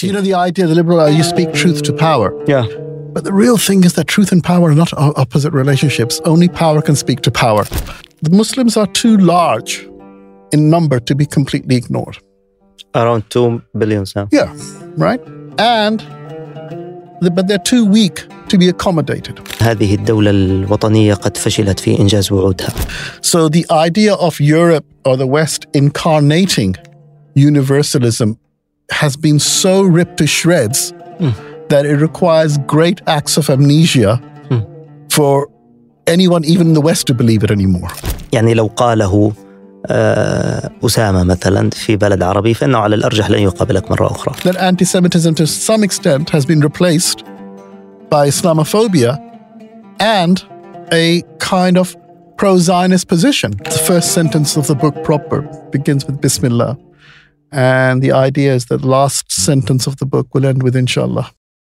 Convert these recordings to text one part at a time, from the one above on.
You know the idea, the liberal, you speak truth to power. Yeah. But the real thing is that truth and power are not opposite relationships. Only power can speak to power. The Muslims are too large in number to be completely ignored. Around 2 billion now. Yeah, right? But they're too weak to be accommodated. هذه الدولة الوطنية قد فشلت في إنجاز وعودها. So the idea of Europe or the West incarnating universalism has been so ripped to shreds that it requires great acts of amnesia for anyone, even in the West, to believe it anymore. يعني لو قاله أسامة مثلا في بلد عربي فإنه على الأرجح لن يقابلك مرة أخرى. That anti-Semitism to some extent has been replaced by Islamophobia and a kind of pro-Zionist position. The first sentence of the book proper begins with Bismillah. And the idea is that the last sentence of the book will end with Inshallah.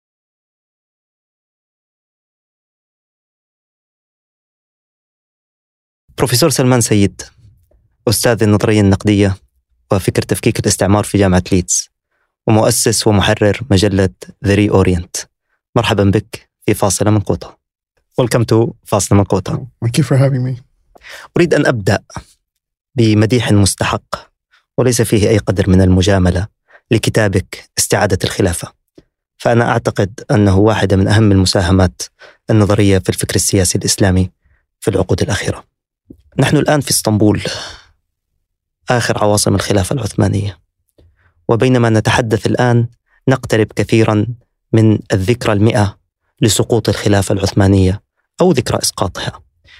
بروفيسور سلمان سيد، أستاذ النظرية النقدية وفكر تفكيك الاستعمار في جامعة ليدز، ومؤسس ومحرر مجلة The Reorient. مرحبا بك في فاصلة من قوطة. Welcome to فاصلة من قوطة. Thank you for having me. أريد أن أبدأ بمديح مستحق وليس فيه أي قدر من المجاملة لكتابك استعادة الخلافة، فأنا أعتقد أنه واحدة من أهم المساهمات النظرية في الفكر السياسي الإسلامي في العقود الأخيرة. نحن الآن في اسطنبول، آخر عواصم الخلافة العثمانية، وبينما نتحدث الآن نقترب كثيرا من الذكرى 100 لسقوط الخلافة العثمانية أو ذكرى إسقاطها.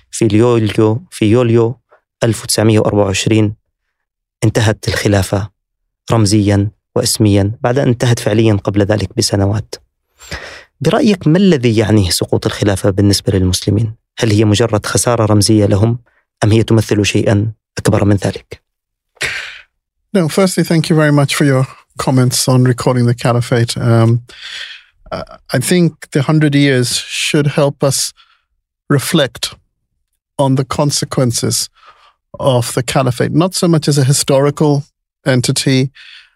في يوليو 1924 انتهت الخلافة رمزيا واسميا بعد أن انتهت فعليا قبل ذلك بسنوات. برأيك ما الذي يعنيه سقوط الخلافة بالنسبة للمسلمين؟ هل هي مجرد خسارة رمزية لهم أم هي تمثل شيئا أكبر من ذلك؟ No, firstly, thank you very much for your comments on recording the caliphate. I think the 100 years should help us reflect on the consequences of the caliphate, not so much as a historical entity,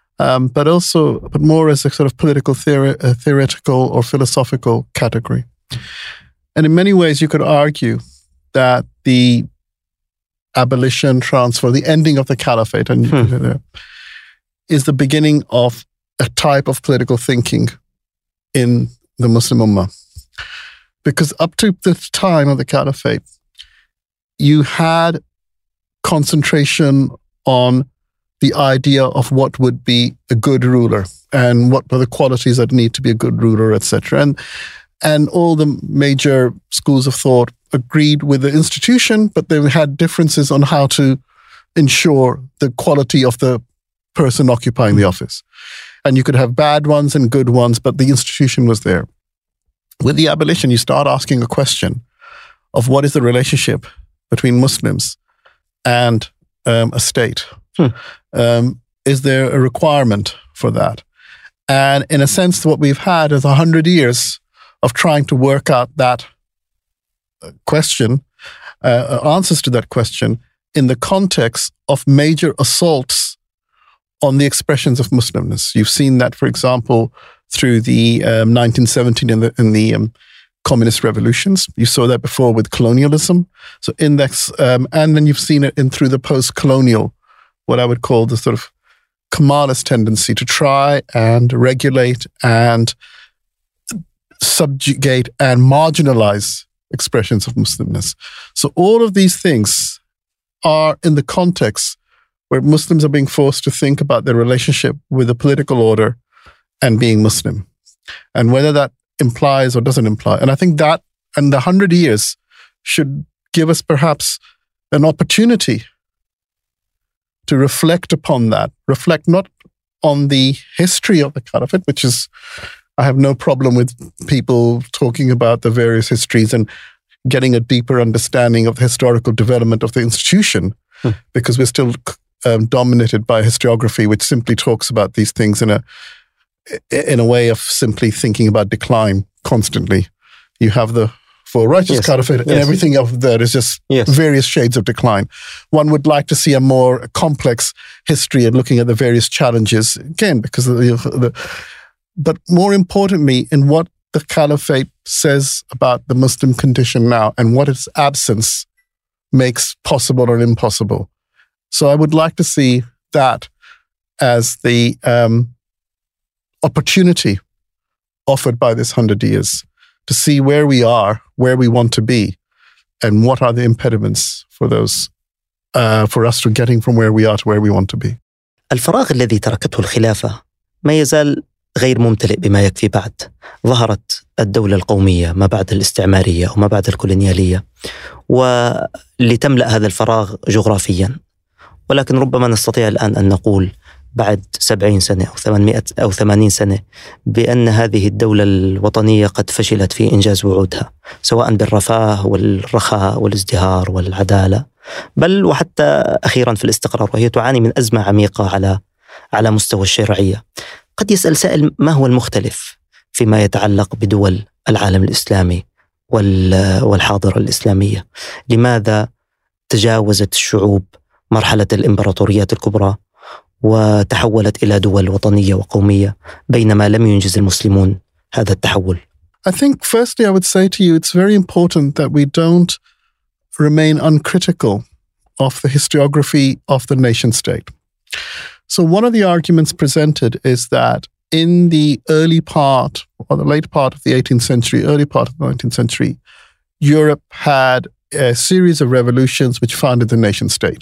but more as a sort of political theoretical or philosophical category. And in many ways, you could argue that the abolition, transfer, the ending of the caliphate is the beginning of a type of political thinking in the Muslim Ummah. Because up to the time of the caliphate, you had concentration on the idea of what would be a good ruler and what were the qualities that need to be a good ruler, etc. And all the major schools of thought agreed with the institution, but they had differences on how to ensure the quality of the person occupying the office. And you could have bad ones and good ones, but the institution was there. With the abolition, you start asking a question of what is the relationship between Muslims and a state. Is there a requirement for that? And in a sense, what we've had is 100 years of trying to work out that question, answers to that question, in the context of major assaults on the expressions of Muslimness. You've seen that, for example, through the 1917 in the communist revolutions. You saw that before with colonialism. So index, and then you've seen it through the post-colonial, what I would call the sort of Kemalist tendency to try and regulate and subjugate and marginalize expressions of Muslimness. So all of these things are in the context where Muslims are being forced to think about their relationship with the political order and being Muslim, and whether that implies or doesn't imply. And I think that, and the 100 years should give us perhaps an opportunity to reflect upon that, reflect not on the history of the caliphate, which is, I have no problem with people talking about the various histories and getting a deeper understanding of the historical development of the institution, because we're still dominated by historiography, which simply talks about these things in a way of simply thinking about decline constantly. You have the for righteous caliphate, and everything of that is just various shades of decline. One would like to see a more complex history and looking at the various challenges, again, because but more importantly, in what the caliphate says about the Muslim condition now and what its absence makes possible or impossible. So I would like to see that as the opportunity offered by this 100 years to see where we are, where we want to be, and what are the impediments for those, for us to getting from where we are to where we want to be. الفراغ الذي تركته الخلافة ما يزال غير ممتلئ بما يكفي بعد. ظهرت الدولة القومية ما بعد الاستعمارية وما بعد الكولونيالية، ولتملأ هذا الفراغ جغرافيا. ولكن ربما نستطيع الآن أن نقول بعد 70 سنة أو 800 أو 80 سنة بأن هذه الدولة الوطنية قد فشلت في إنجاز وعودها، سواء بالرفاه والرخاء والازدهار والعدالة، بل وحتى أخيرا في الاستقرار، وهي تعاني من أزمة عميقة على مستوى الشرعية. قد يسأل سائل: ما هو المختلف فيما يتعلق بدول العالم الإسلامي والحاضرة الإسلامية؟ لماذا تجاوزت الشعوب مرحلة الإمبراطوريات الكبرى وتحولت إلى دول وطنية وقومية بينما لم ينجز المسلمون هذا التحول؟ I think firstly I would say to you it's very important that we don't remain uncritical of the historiography of the nation state. So one of the arguments presented is that in the early part or the late part of the 18th century, early part of the 19th century, Europe had a series of revolutions which founded the nation state.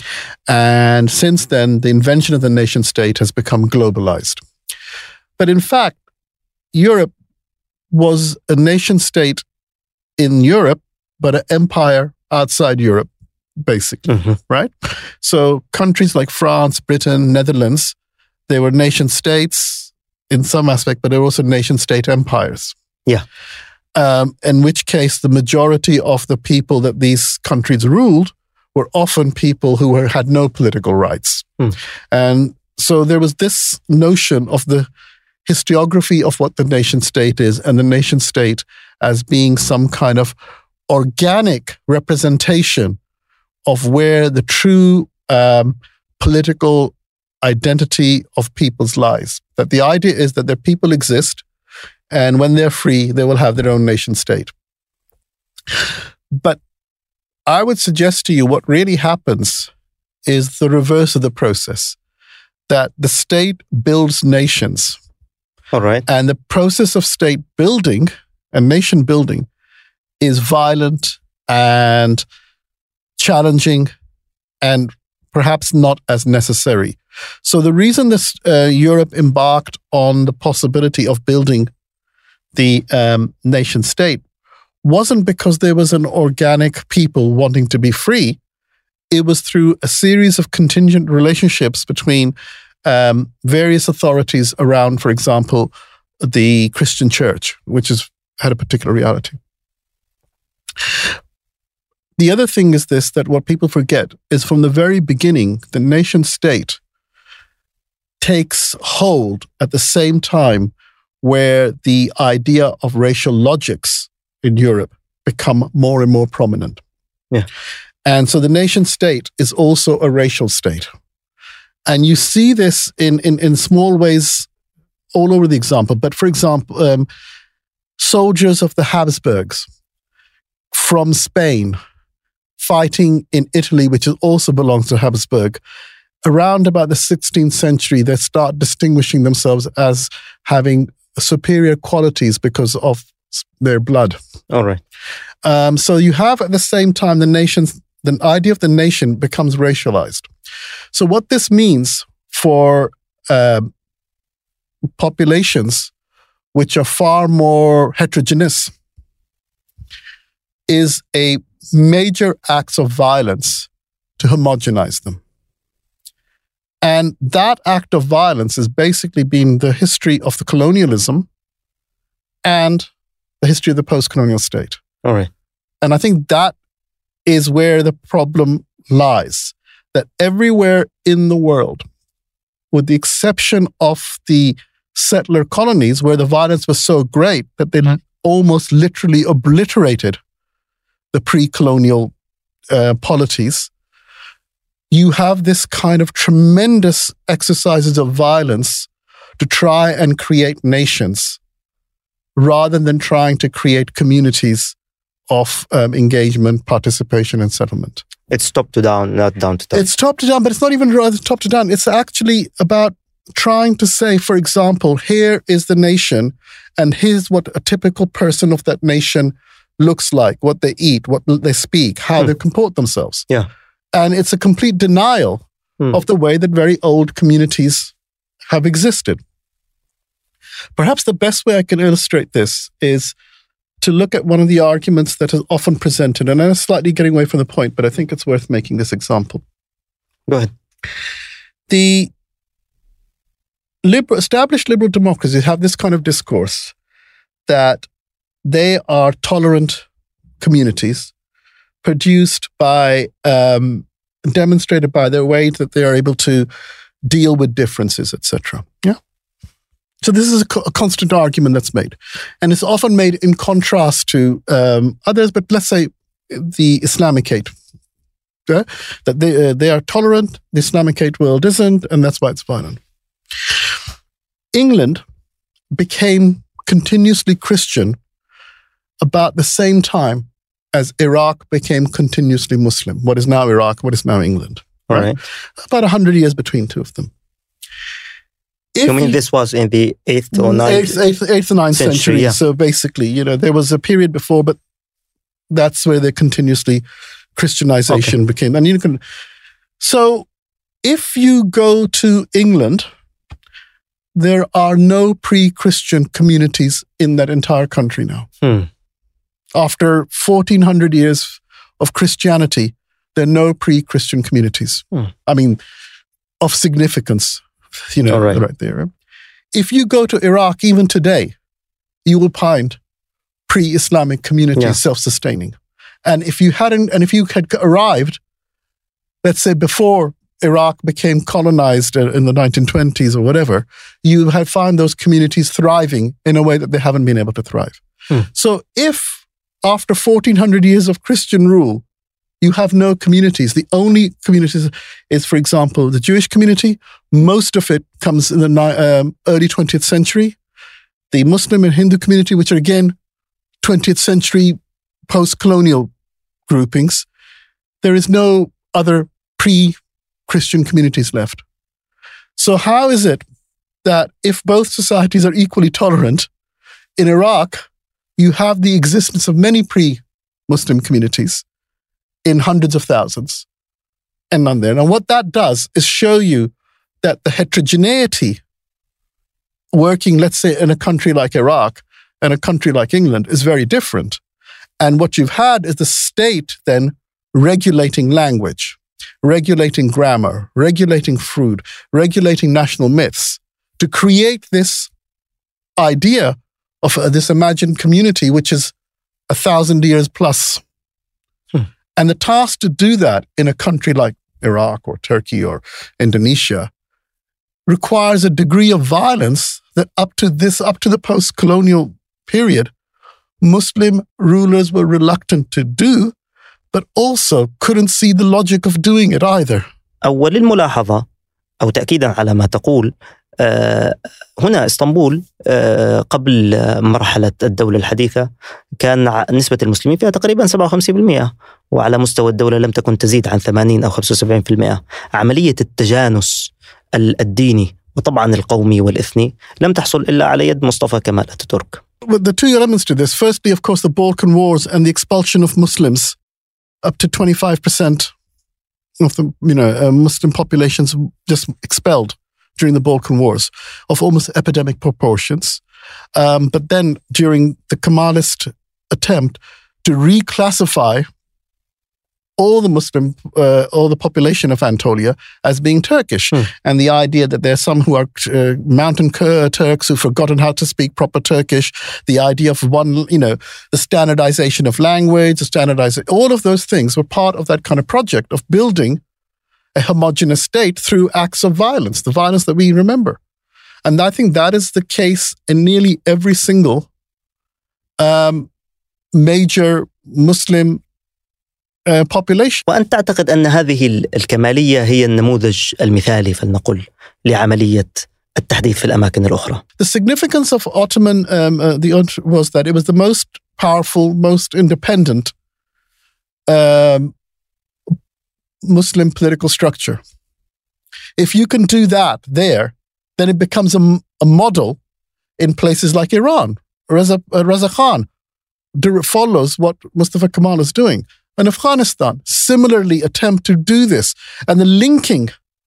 And since then, the invention of the nation state has become globalized. But in fact, Europe was a nation state in Europe, but an empire outside Europe, basically, right? So countries like France, Britain, Netherlands, they were nation states in some aspect, but they were also nation state empires. Yeah. In which case, the majority of the people that these countries ruled were often people who had no political rights. And so there was this notion of the historiography of what the nation state is, and the nation state as being some kind of organic representation of where the true political identity of people's lies. That the idea is that their people exist, and when they're free, they will have their own nation state. But I would suggest to you what really happens is the reverse of the process, that the state builds nations. All right. And the process of state building and nation building is violent and challenging and perhaps not as necessary. So the reason this Europe embarked on the possibility of building the nation state wasn't because there was an organic people wanting to be free. It was through a series of contingent relationships between various authorities around, for example, the Christian church, which had a particular reality. The other thing is this, that what people forget is from the very beginning, the nation state takes hold at the same time where the idea of racial logics in Europe become more and more prominent. Yeah. And so the nation state is also a racial state. And you see this in small ways all over the example. But for example, soldiers of the Habsburgs from Spain fighting in Italy, which also belongs to Habsburg, around about the 16th century, they start distinguishing themselves as having superior qualities because of their blood. All right. So you have at the same time the idea of the nation becomes racialized. So what this means for populations which are far more heterogeneous is a major acts of violence to homogenize them. And that act of violence has basically been the history of the colonialism and the history of the post-colonial state. All right. And I think that is where the problem lies, that everywhere in the world, with the exception of the settler colonies where the violence was so great that they almost literally obliterated the pre-colonial polities, you have this kind of tremendous exercises of violence to try and create nations rather than trying to create communities of engagement, participation, and settlement. It's top to down, not down to top. It's top to down, but it's not even rather top to down. It's actually about trying to say, for example, here is the nation, and here's what a typical person of that nation looks like, what they eat, what they speak, how they comport themselves. Yeah. And it's a complete denial of the way that very old communities have existed. Perhaps the best way I can illustrate this is to look at one of the arguments that is often presented, and I'm slightly getting away from the point, but I think it's worth making this example. Go ahead. The established liberal democracies have this kind of discourse that they are tolerant communities produced by, demonstrated by their way that they are able to deal with differences, etc. Yeah. So this is a constant argument that's made. And it's often made in contrast to others, but let's say the Islamicate, that they are tolerant, the Islamicate world isn't, and that's why it's violent. England became continuously Christian about the same time as Iraq became continuously Muslim. What is now Iraq, what is now England. Right. About 100 years between two of them. You mean this was in the 8th or 9th? 8th or 9th century. Yeah. So basically, there was a period before, but that's where the continuously Christianization became. And so if you go to England, there are no pre-Christian communities in that entire country now. After 1400 years of Christianity, there are no pre-Christian communities. I mean, of significance. Right there. If you go to Iraq, even today, you will find pre-Islamic communities self-sustaining. And if you had arrived, let's say before Iraq became colonized in the 1920s or whatever, you had found those communities thriving in a way that they haven't been able to thrive. So if after 1400 years of Christian rule, you have no communities. The only communities is, for example, the Jewish community. Most of it comes in the early 20th century. The Muslim and Hindu community, which are again 20th century post-colonial groupings. There is no other pre-Christian communities left. So how is it that if both societies are equally tolerant, in Iraq, you have the existence of many pre-Muslim communities in hundreds of thousands, and none there. And what that does is show you that the heterogeneity working, let's say, in a country like Iraq and a country like England is very different. And what you've had is the state then regulating language, regulating grammar, regulating food, regulating national myths to create this idea of this imagined community, which is 1,000 years plus. And the task to do that in a country like Iraq or Turkey or Indonesia requires a degree of violence that up to the post-colonial period, Muslim rulers were reluctant to do, but also couldn't see the logic of doing it either. أول الملاحظة أو تأكيدا على ما تقول، هنا اسطنبول قبل مرحلة الدولة الحديثة كان نسبة المسلمين فيها تقريبا 57%، وعلى مستوى الدولة لم تكن تزيد عن 80 أو 75%. عملية التجانس الديني وطبعا القومي والإثني لم تحصل إلا على يد مصطفى كمال أتاتورك. But the two elements to this, firstly, of course, the Balkan Wars and the expulsion of Muslims, up to 25% of the Muslim populations just expelled during the Balkan Wars of almost epidemic proportions. But then during the Kemalist attempt to reclassify all the population of Anatolia as being Turkish. And the idea that there are some who are mountain Turks who've forgotten how to speak proper Turkish, the idea of the standardization of language, all of those things were part of that kind of project of building a homogenous state through acts of violence, the violence that we remember. And I think that is the case in nearly every single major Muslim population. وأنت تعتقد أن هذه الكمالية هي النموذج المثالي فلنقل لعملية التحديث في الأماكن الأخرى. The significance of Ottoman was that it was the most powerful, most independent Muslim political structure. If you can do that there, then it becomes a model in places like Iran. Reza Khan follows what Mustafa Kemal is doing. And Afghanistan similarly attempt to do this. And the linking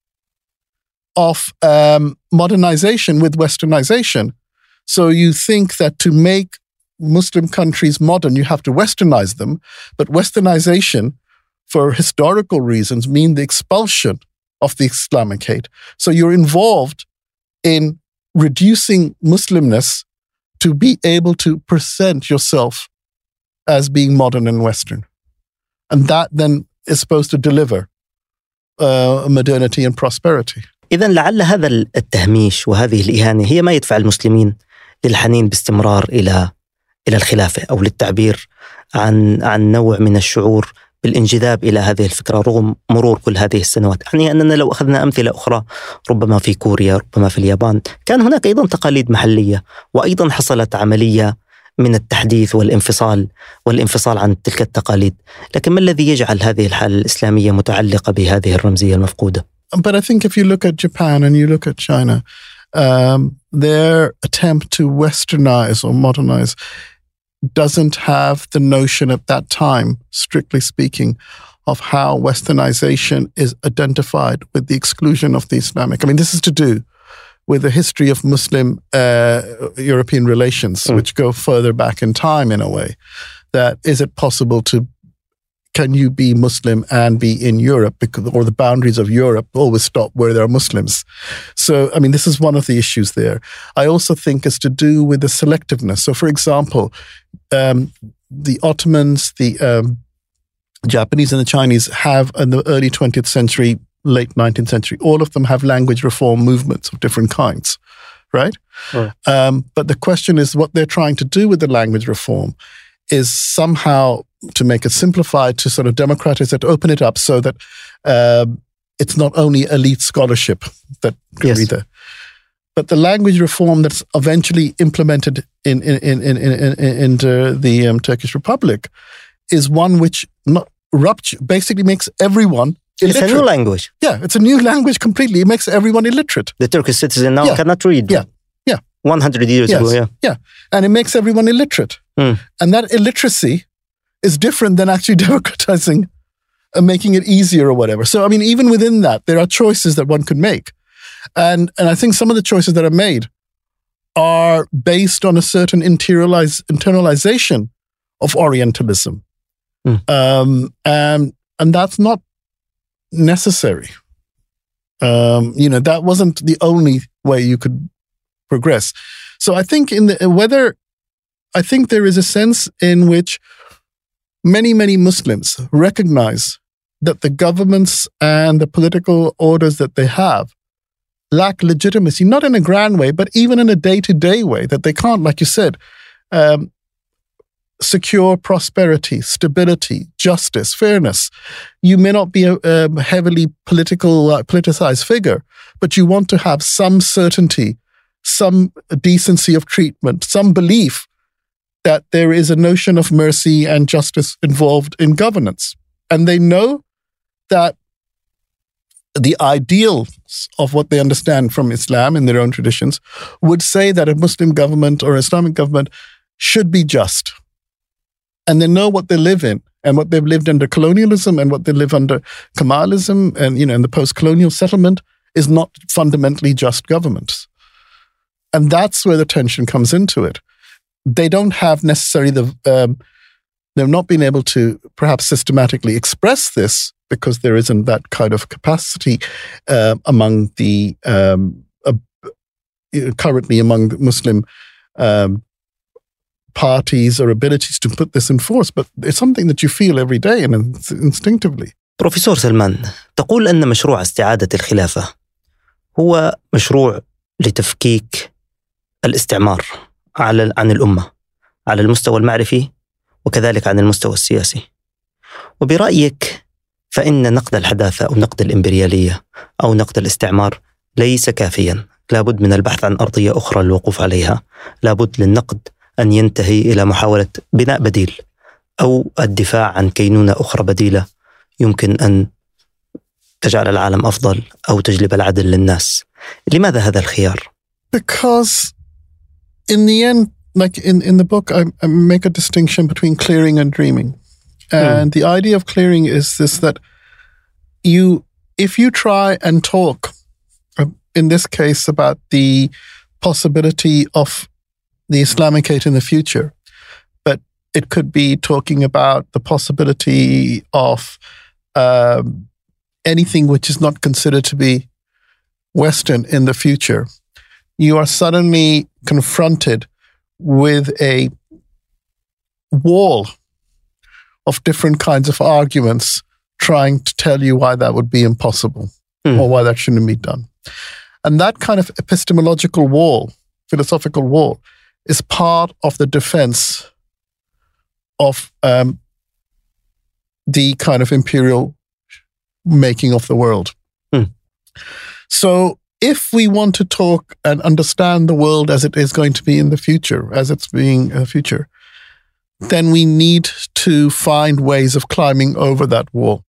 of modernization with westernization. So you think that to make Muslim countries modern, you have to westernize them. But westernization, for historical reasons, mean the expulsion of the Islamic hate. So you're involved in reducing Muslimness to be able to present yourself as being modern and Western. And that then is supposed to deliver modernity and prosperity. إذن لعل هذا التهميش وهذه الإهانة هي ما يدفع المسلمين للحنين باستمرار إلى الخلافة، أو للتعبير عن نوع من الشعور بالانجذاب إلى هذه الفكرة رغم مرور كل هذه السنوات. يعني أننا لو أخذنا أمثلة أخرى، ربما في كوريا، ربما في اليابان، كان هناك أيضا تقاليد محلية، وأيضا حصلت عملية من التحديث والانفصال عن تلك التقاليد. لكن ما الذي يجعل هذه الحالة الإسلامية متعلقة بهذه الرمزية المفقودة؟ But I think if you look at Japan and you look at China, their attempt to westernize or modernize doesn't have the notion at that time, strictly speaking, of how westernization is identified with the exclusion of the Islamic. I mean, this is to do with the history of Muslim-European relations, which go further back in time in a way. That is it possible can you be Muslim and be in Europe, or the boundaries of Europe always stop where there are Muslims? So, I mean, this is one of the issues there. I also think it's to do with the selectiveness. So, for example, the Ottomans, the Japanese and the Chinese have, in the early 20th century, late 19th century, all of them have language reform movements of different kinds, right? But the question is what they're trying to do with the language reform is somehow to make it simplified, to sort of democratize it, open it up so that it's not only elite scholarship that can be there. But the language reform that's eventually implemented into the Turkish Republic is one which basically makes everyone illiterate. It's a new language. Yeah, it's a new language completely. It makes everyone illiterate. The Turkish citizen now cannot read. Yeah. 100 years ago, Yeah, and it makes everyone illiterate. And that illiteracy is different than actually democratizing and making it easier or whatever. So, I mean, even within that, there are choices that one could make. And I think some of the choices that are made are based on a certain internalization of Orientalism. And that's not necessary. That wasn't the only way you could progress. So I think there is a sense in which many Muslims recognize that the governments and the political orders that they have lack legitimacy, not in a grand way, but even in a day-to-day way, that they can't, like you said, secure prosperity, stability, justice, fairness. You may not be a heavily politicized figure, but you want to have some certainty, some decency of treatment, some belief that there is a notion of mercy and justice involved in governance. And they know that the ideals of what they understand from Islam in their own traditions would say that a Muslim government or Islamic government should be just. And they know what they live in and what they've lived under colonialism and what they live under Kemalism and, in the post-colonial settlement is not fundamentally just governments. And that's where the tension comes into it. They don't have necessarily they've not been able to perhaps systematically express this because there isn't that kind of capacity among the currently among Muslim parties or abilities to put this in force, but it's something that you feel every day and instinctively. بروفيسور سلمان، تقول أن مشروع استعادة الخلافة هو مشروع لتفكيك الاستعمار عن الأمة على المستوى المعرفي وكذلك عن المستوى السياسي. وبرأيك فإن نقد الحداثة أو نقد الإمبريالية أو نقد الاستعمار ليس كافيا لابد من البحث عن أرضية أخرى للوقوف عليها. لابد للنقد أن ينتهي إلى محاولة بناء بديل أو الدفاع عن كينونة أخرى بديلة يمكن أن تجعل العالم أفضل أو تجلب العدل للناس. لماذا هذا الخيار؟ Because in the end, like in the book, I make a distinction between clearing and dreaming. And the idea of clearing is this, that if you try and talk, in this case, about the possibility of the Islamicate in the future, but it could be talking about the possibility of anything which is not considered to be Western in the future, you are suddenly confronted with a wall of different kinds of arguments trying to tell you why that would be impossible or why that shouldn't be done. And that kind of epistemological wall, philosophical wall, is part of the defense of the kind of imperial making of the world. So if we want to talk and understand the world as it is going to be in the future, as it's being in the future, then we need to find ways of climbing over that wall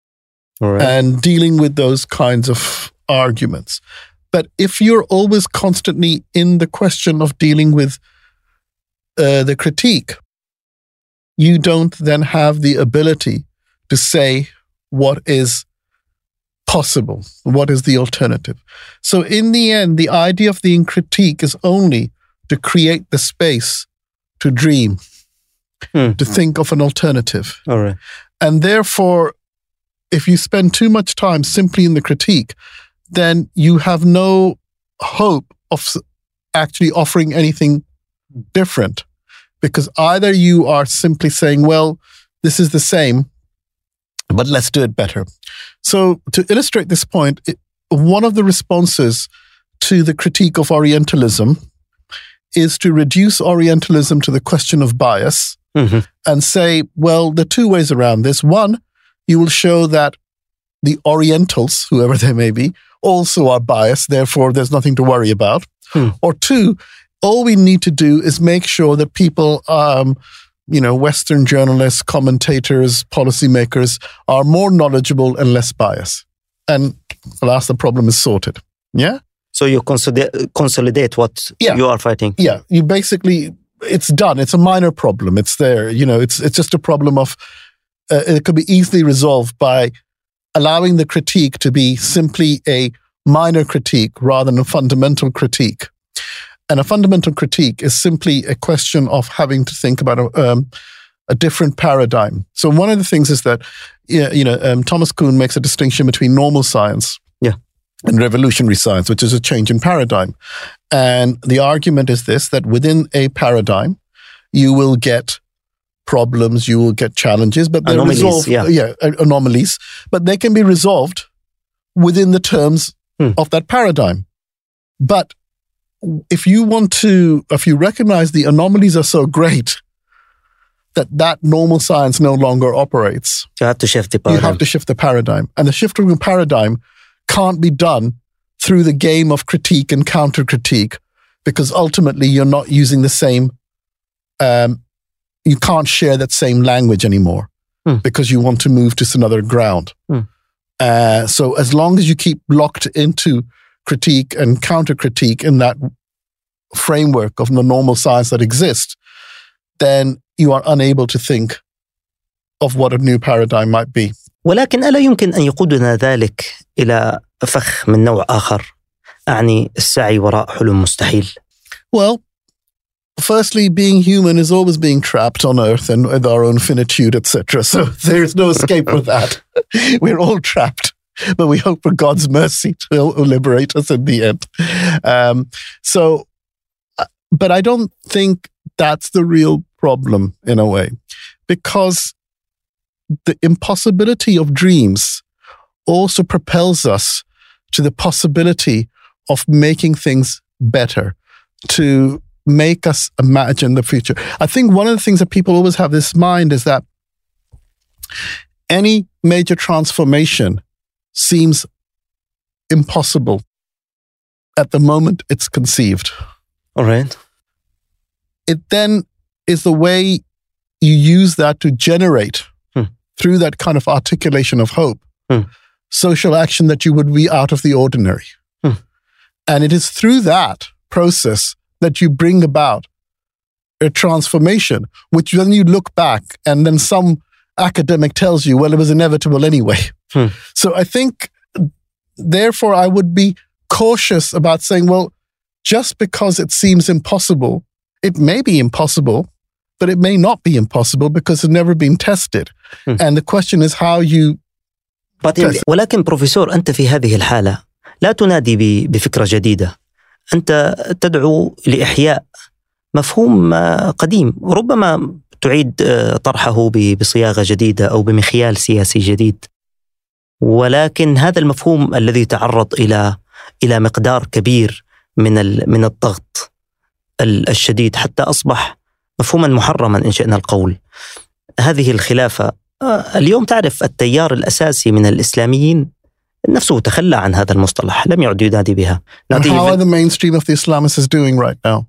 and dealing with those kinds of arguments. But if you're always constantly in the question of dealing with the critique, you don't then have the ability to say what is possible, what is the alternative. So in the end, the idea of the critique is only to create the space to dream, to think of an alternative. All right. And therefore, if you spend too much time simply in the critique, then you have no hope of actually offering anything different. Because either you are simply saying, well, this is the same, but let's do it better. So to illustrate this point, one of the responses to the critique of Orientalism is to reduce Orientalism to the question of bias and say, well, there are two ways around this. One, you will show that the Orientals, whoever they may be, also are biased, therefore there's nothing to worry about. Or two, all we need to do is make sure that people, Western journalists, commentators, policymakers are more knowledgeable and less biased. And alas, the problem is sorted. Yeah? So you consolidate what you are fighting. Yeah, you basically, it's done. It's a minor problem. It's there. It's just a problem of, it could be easily resolved by allowing the critique to be simply a minor critique rather than a fundamental critique. And a fundamental critique is simply a question of having to think about a different paradigm. So one of the things is that, Thomas Kuhn makes a distinction between normal science and revolutionary science, which is a change in paradigm. And the argument is this, that within a paradigm, you will get problems, you will get challenges, but they're resolved. Anomalies, but they can be resolved within the terms of that paradigm. But if you recognize the anomalies are so great that normal science no longer operates, you have to shift the paradigm. You have to shift the paradigm. And the shift of the paradigm can't be done through the game of critique and counter-critique, because ultimately you're not using the same, you can't share that same language anymore because you want to move to another ground. So as long as you keep locked into critique and counter-critique in that framework of the normal science that exists, then you are unable to think of what a new paradigm might be. ولكن ألا يمكن أن يقودنا ذلك إلى فخ من نوع آخر، أعني السعي وراء حلم مستحيل؟ Well, firstly, being human is always being trapped on Earth and with our own finitude, etc. So there is no escape from that. We're all trapped, but we hope for God's mercy to liberate us in the end. But I don't think that's the real problem in a way, because the impossibility of dreams also propels us to the possibility of making things better, to make us imagine the future. I think one of the things that people always have this mind is that any major transformation seems impossible at the moment it's conceived. All right. It then is the way you use that to generate, through that kind of articulation of hope, social action that you would be out of the ordinary. And it is through that process that you bring about a transformation, which when you look back and then some academic tells you, well, it was inevitable anyway. So I think, therefore, I would be cautious about saying, well, just because it seems impossible, it may be impossible, but it may not be impossible because it's never been tested. And the question is how you test. ولكن بروفيسور، أنت في هذه الحالة لا تنادي بفكرة جديدة، أنت تدعو لإحياء مفهوم قديم، ربما تعيد طرحه بصياغة جديدة أو بمخيال سياسي جديد، ولكن هذا المفهوم الذي تعرض إلى مقدار كبير من الضغط الشديد حتى أصبح مفهوما محرما إن شئنا القول. هذه الخلافة اليوم، تعرف التيار الأساسي من الإسلاميين نفسه تخلى عن هذا المصطلح، لم يعد ينادي بها. How are the mainstream of the Islamists doing right now?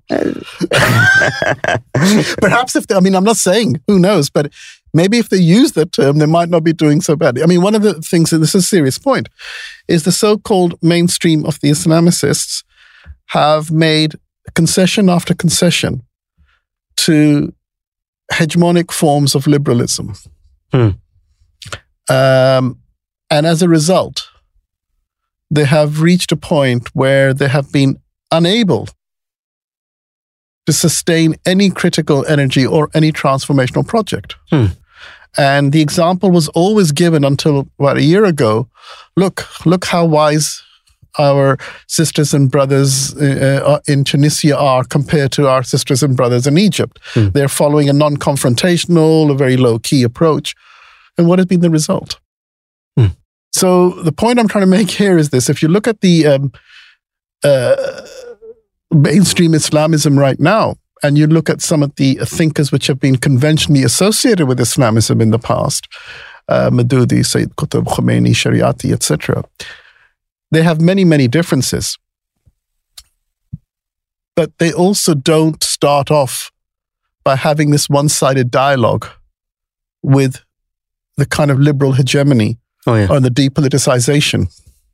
Perhaps I'm not saying, who knows, but maybe if they use that term, they might not be doing so badly. I mean, one of the things, and this is a serious point, is the so-called mainstream of the Islamicists have made concession after concession to hegemonic forms of liberalism. And as a result, they have reached a point where they have been unable to sustain any critical energy or any transformational project. And the example was always given until about a year ago. Look how wise our sisters and brothers in Tunisia are compared to our sisters and brothers in Egypt. They're following a non-confrontational, a very low-key approach. And what has been the result? So the point I'm trying to make here is this. If you look at the mainstream Islamism right now, and you look at some of the thinkers which have been conventionally associated with Islamism in the past, Maududi, Sayyid Qutb, Khomeini, Shariati, etc., they have many, many differences. But they also don't start off by having this one-sided dialogue with the kind of liberal hegemony or the depoliticization.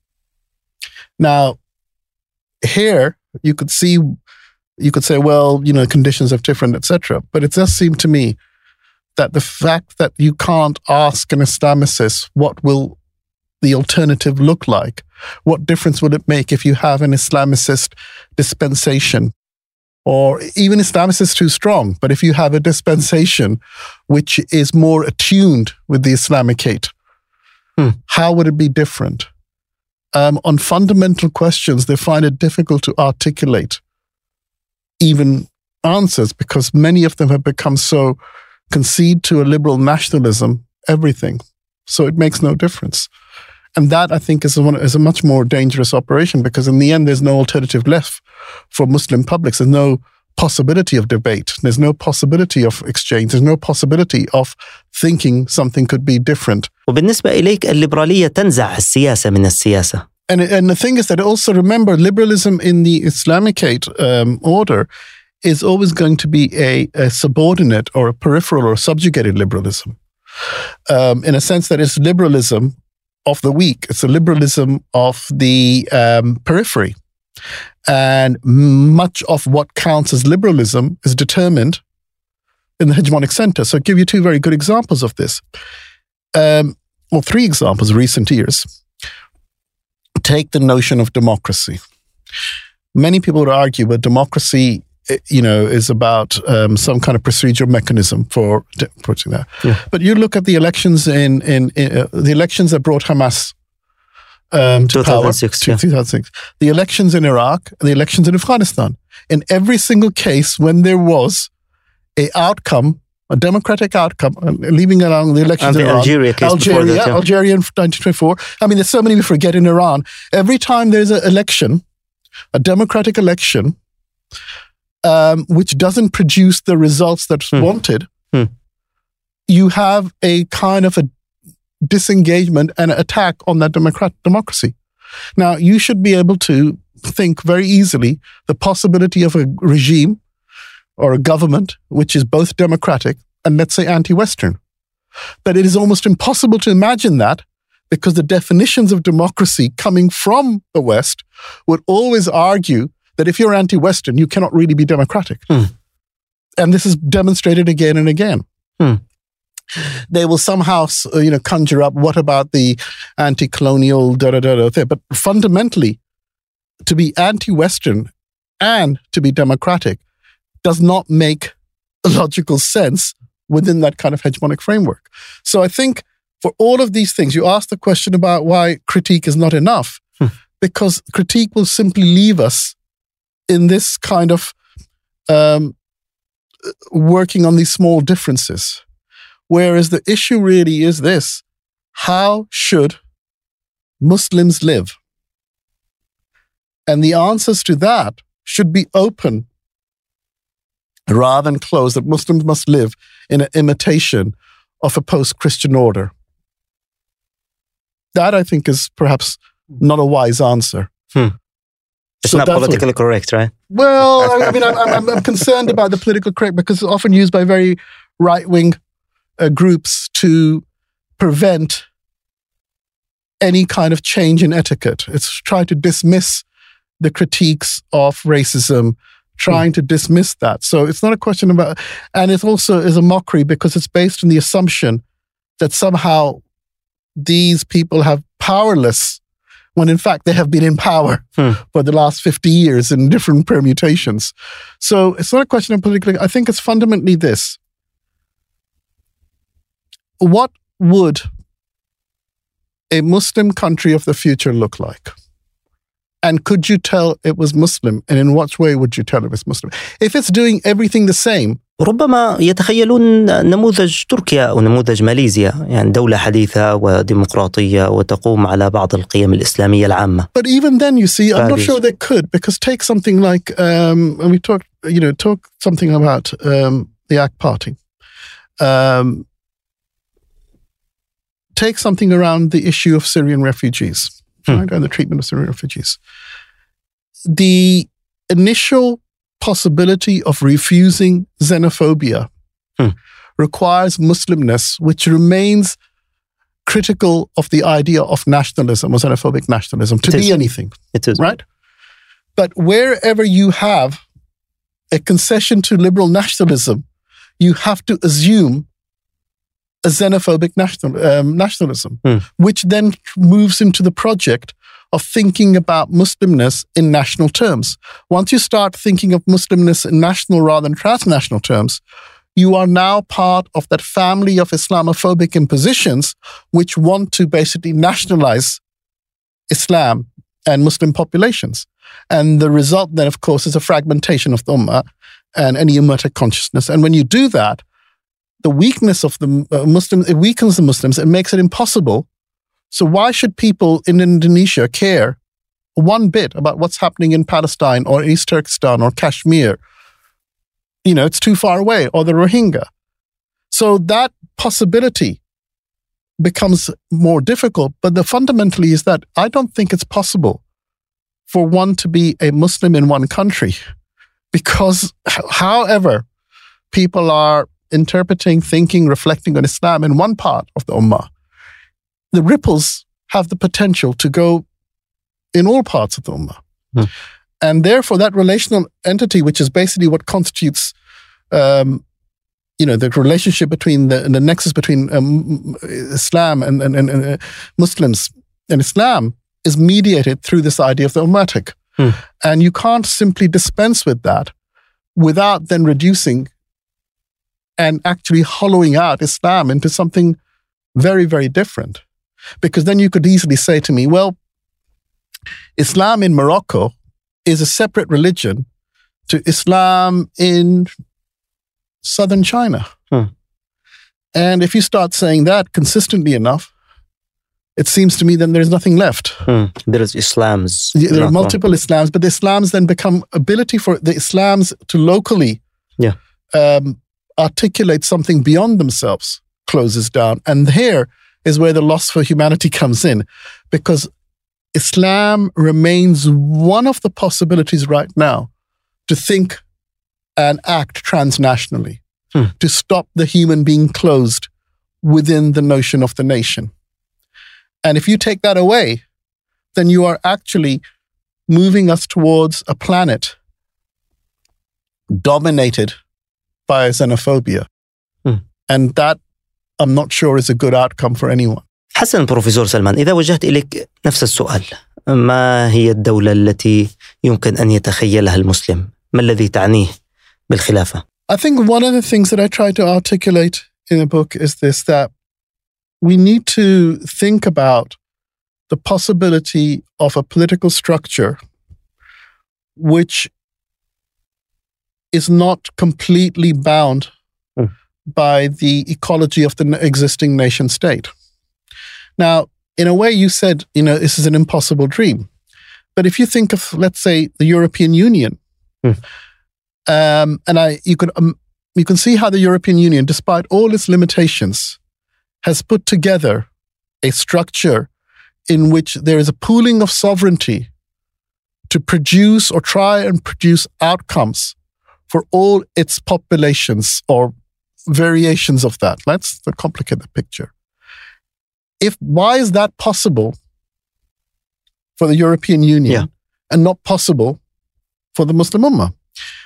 Now, here you could say, well, conditions are different, etc. But it does seem to me that the fact that you can't ask an Islamicist what will the alternative look like, what difference will it make if you have an Islamicist dispensation, or even Islamicist too strong, but if you have a dispensation which is more attuned with the Islamicate, how would it be different? On fundamental questions, they find it difficult to articulate even answers because many of them have become so concede to a liberal nationalism, everything. So it makes no difference. And that, I think, is a much more dangerous operation because in the end, there's no alternative left for Muslim publics. There's no possibility of debate. There's no possibility of exchange. There's no possibility of thinking something could be different. وبالنسبة إليك الليبرالية تنزع السياسة من السياسة. And the thing is that also remember, liberalism in the Islamicate order is always going to be a subordinate or a peripheral or subjugated liberalism. In a sense that it's liberalism of the weak. It's a liberalism of the periphery. And much of what counts as liberalism is determined in the hegemonic center. So I'll give you two very good examples of this. Three examples of recent years. Take the notion of democracy. Many people would argue that democracy, is about some kind of procedural mechanism for putting that. Yeah. But you look at the elections in the elections that brought Hamas to 2006, power, 2006. The elections in Iraq, and the elections in Afghanistan. In every single case, when there was a democratic outcome, leaving along the elections in Iran, Algeria in 1924. I mean, there's so many we forget in Iran. Every time there's an election, a democratic election, which doesn't produce the results that's wanted, you have a kind of a disengagement and an attack on that democracy. Now, you should be able to think very easily the possibility of a regime or a government which is both democratic and, let's say, anti-Western. But it is almost impossible to imagine that, because the definitions of democracy coming from the West would always argue that if you're anti-Western, you cannot really be democratic. And this is demonstrated again and again. They will somehow, conjure up, what about the anti-colonial thing? But fundamentally, to be anti-Western and to be democratic does not make logical sense within that kind of hegemonic framework. So I think for all of these things, you asked the question about why critique is not enough, because critique will simply leave us in this kind of working on these small differences. Whereas the issue really is this: how should Muslims live? And the answers to that should be open rather than closed, that Muslims must live in an imitation of a post-Christian order. That, I think, is perhaps not a wise answer. It's not politically correct, right? Well, I mean, I'm concerned about the political correct, because it's often used by very right-wing groups to prevent any kind of change in etiquette. It's trying to dismiss the critiques of racism, trying to dismiss that. So it's not a question about, and it also is a mockery because it's based on the assumption that somehow these people have powerless, when in fact they have been in power for the last 50 years in different permutations. So it's not a question of political, I think it's fundamentally this. What would a Muslim country of the future look like? And could you tell it was Muslim? And in what way would you tell it was Muslim? If it's doing everything the same. ربما يتخيلون نموذج تركيا أو نموذج ماليزيا، يعني دولة حديثة وديمقراطية وتقوم على بعض القيم الإسلامية العامة. But even then, you see, I'm not sure they could, because take something like, and we talk something about the AK Party. Take something around the issue of Syrian refugees, right, and the treatment of Syrian refugees. The initial possibility of refusing xenophobia requires Muslimness, which remains critical of the idea of nationalism or xenophobic nationalism, to be anything. It is. Right? But wherever you have a concession to liberal nationalism, you have to assume a xenophobic nationalism, which then moves into the project of thinking about Muslimness in national terms. Once you start thinking of Muslimness in national rather than transnational terms, you are now part of that family of Islamophobic impositions which want to basically nationalize Islam and Muslim populations. And the result then, of course, is a fragmentation of the Ummah and any Ummatic consciousness. And when you do that, the weakness of the Muslims, it weakens the Muslims, it makes it impossible. So why should people in Indonesia care one bit about what's happening in Palestine or East Turkestan or Kashmir? It's too far away, or the Rohingya. So that possibility becomes more difficult. But the fundamentally is that I don't think it's possible for one to be a Muslim in one country, because however people are interpreting, thinking, reflecting on Islam in one part of the Ummah, the ripples have the potential to go in all parts of the Ummah. And therefore, that relational entity, which is basically what constitutes, the relationship between the nexus between Islam and Muslims and Islam, is mediated through this idea of the Ummatic. And you can't simply dispense with that without then reducing and actually hollowing out Islam into something very, very different. Because then you could easily say to me, well, Islam in Morocco is a separate religion to Islam in southern China. And if you start saying that consistently enough, it seems to me then there's nothing left. There is Islams. There are multiple Islams, but the Islams then become ability for the Islams to locally articulate something beyond themselves closes down. And here is where the loss for humanity comes in, because Islam remains one of the possibilities right now to think and act transnationally, to stop the human being closed within the notion of the nation. And if you take that away, then you are actually moving us towards a planet dominated by xenophobia. And that, I'm not sure, is a good outcome for anyone. حسن بروفيسور سلمان، إذا وجهت إليك نفس السؤال، ما هي الدولة التي يمكن أن يتخيلها المسلم؟ ما الذي تعنيه بالخلافة؟ I think one of the things that I try to articulate in the book is this, that we need to think about the possibility of a political structure which is not completely bound by the ecology of the existing nation state. Now, in a way, you said, this is an impossible dream. But if you think of, let's say, the European Union, you can see how the European Union, despite all its limitations, has put together a structure in which there is a pooling of sovereignty to produce or try and produce outcomes for all its populations or variations of that. Let's complicate the picture. Why is that possible for the European Union and not possible for the Muslim Ummah?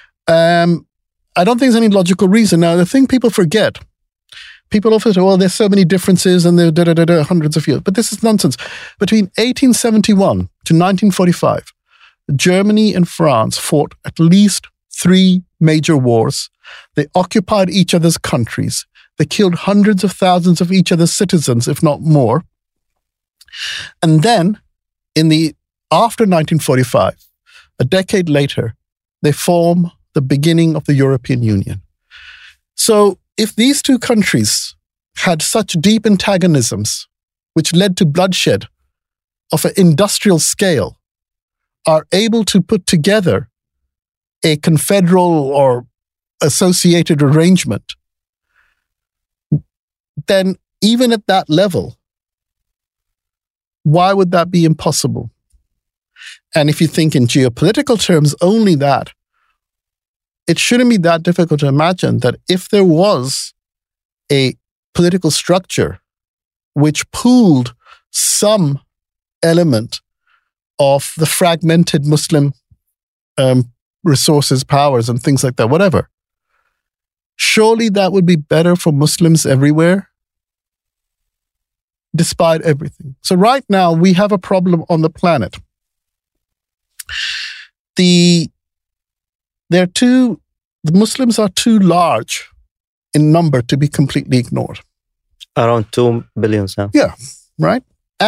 I don't think there's any logical reason. Now, the thing people forget, people often say, well, there's so many differences and there are hundreds of years. But this is nonsense. Between 1871 to 1945, Germany and France fought at least 3 major wars. They occupied each other's countries. They killed hundreds of thousands of each other's citizens, if not more. And then, after 1945, a decade later, they form the beginning of the European Union. So if these 2 countries had such deep antagonisms, which led to bloodshed of an industrial scale, are able to put together a confederal or associated arrangement, then even at that level, why would that be impossible? And if you think in geopolitical terms only that, it shouldn't be that difficult to imagine that if there was a political structure which pooled some element of the fragmented Muslim resources, powers, and things like that, whatever, surely that would be better for Muslims everywhere, despite everything. So right now, we have a problem on the planet. The Muslims are too large in number to be completely ignored. Around 2 billion now. Yeah, right?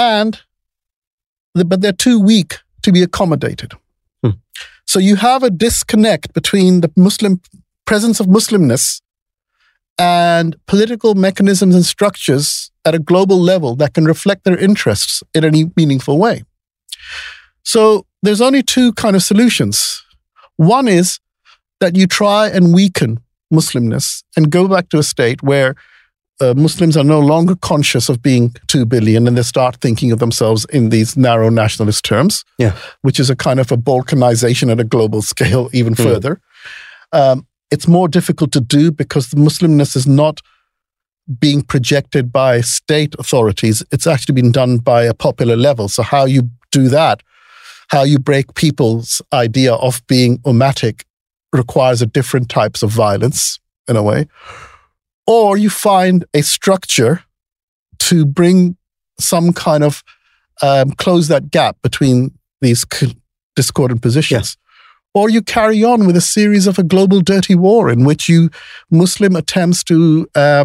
But they're too weak to be accommodated. So you have a disconnect between the presence of Muslimness and political mechanisms and structures at a global level that can reflect their interests in any meaningful way. So there's only 2 kind of solutions. One is that you try and weaken Muslimness and go back to a state where Muslims are no longer conscious of being 2 billion and they start thinking of themselves in these narrow nationalist terms, which is a kind of a balkanization at a global scale even further. It's more difficult to do because the Muslimness is not being projected by state authorities. It's actually been done by a popular level. So how you do that, how you break people's idea of being ummatic requires a different types of violence in a way. Or you find a structure to bring some kind of close that gap between these discordant positions. Or you carry on with a series of a global dirty war in which Muslim attempts to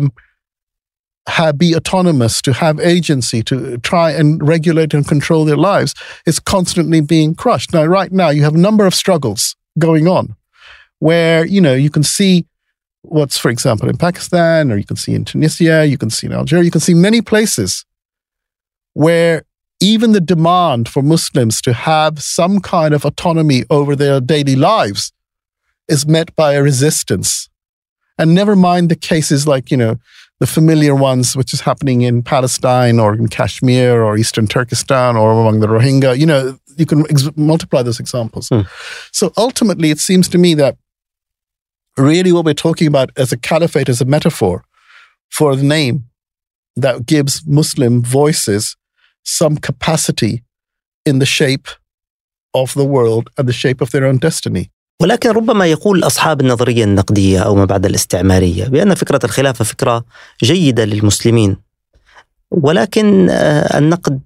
be autonomous, to have agency, to try and regulate and control their lives is constantly being crushed. Now, right now, you have a number of struggles going on where, you can see what's, for example, in Pakistan, or you can see in Tunisia, you can see in Algeria, you can see many places where even the demand for Muslims to have some kind of autonomy over their daily lives is met by a resistance. And never mind the cases like, the familiar ones, which is happening in Palestine or in Kashmir or Eastern Turkestan or among the Rohingya. You can multiply those examples. So ultimately, it seems to me that really what we're talking about as a caliphate is a metaphor for the name that gives Muslim voices some capacity in the shape of the world and the shape of their own destiny. ولكن ربما يقول أصحاب النظرية النقدية أو ما بعد الاستعمارية بأن فكرة الخلافة فكرة جيدة للمسلمين، ولكن النقد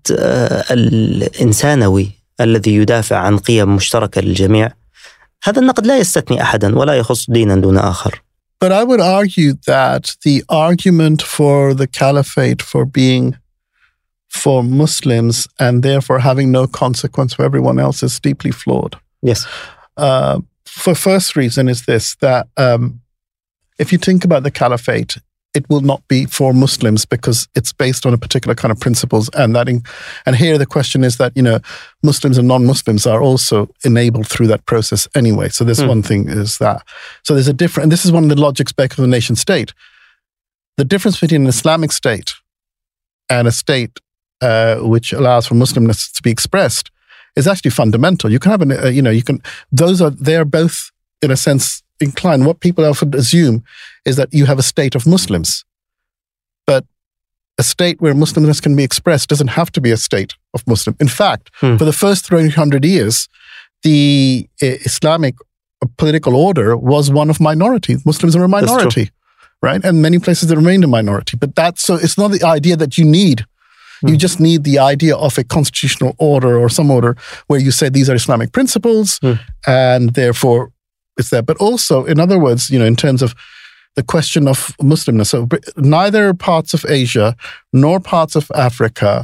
الإنسانوي الذي يدافع عن قيم مشتركة للجميع، هذا النقد لا يستثني أحدا ولا يخص دينا دون آخر. But I would argue that the argument for the caliphate for being for Muslims and therefore having no consequence for everyone else is deeply flawed. Yes. For first reason is this, that if you think about the caliphate, it will not be for Muslims because it's based on a particular kind of principles. And here the question is that, Muslims and non-Muslims are also enabled through that process anyway. So this one thing is that. So there's and this is one of the logics back of the nation state. The difference between an Islamic state and a state which allows for Muslimness to be expressed is actually fundamental. You can have they are both in a sense inclined. What people often assume is that you have a state of Muslims, but a state where Muslimness can be expressed doesn't have to be a state of Muslim. In fact, for the first 300 years, the Islamic political order was one of minority. Muslims are a minority, right? And many places they remained a minority. But it's not the idea that you need. You just need the idea of a constitutional order or some order where you say these are Islamic principles and therefore it's there. But also, in other words, in terms of the question of Muslimness, so neither parts of Asia nor parts of Africa,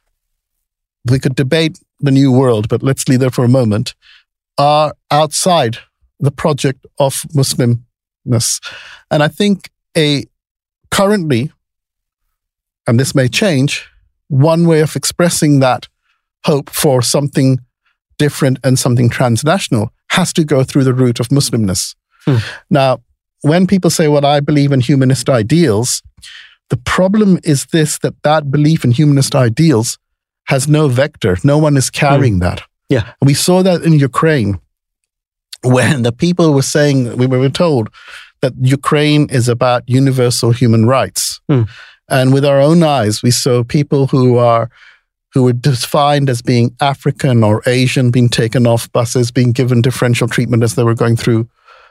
we could debate the New World, but let's leave there for a moment, are outside the project of Muslimness. And I think currently, and this may change, one way of expressing that hope for something different and something transnational has to go through the route of Muslimness. Now, when people say, well, I believe in humanist ideals, the problem is this, that belief in humanist ideals has no vector. No one is carrying that. Yeah. And we saw that in Ukraine when the people were saying, we were told that Ukraine is about universal human rights. And with our own eyes, we saw people who were defined as being African or Asian being taken off buses, being given differential treatment as they were going through,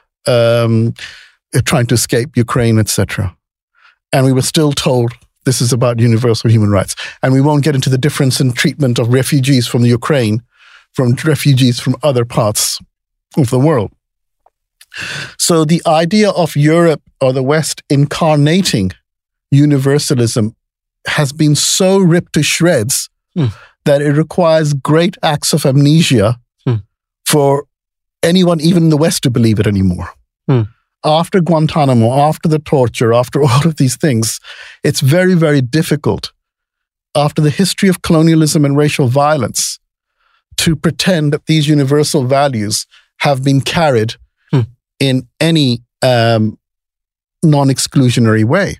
trying to escape Ukraine, etc. And we were still told this is about universal human rights. And we won't get into the difference in treatment of refugees from the Ukraine, from refugees from other parts of the world. So the idea of Europe or the West incarnating universalism has been so ripped to shreds that it requires great acts of amnesia for anyone, even in the West, to believe it anymore. After Guantanamo, after the torture, after all of these things, it's very, very difficult, after the history of colonialism and racial violence, to pretend that these universal values have been carried in any non-exclusionary way.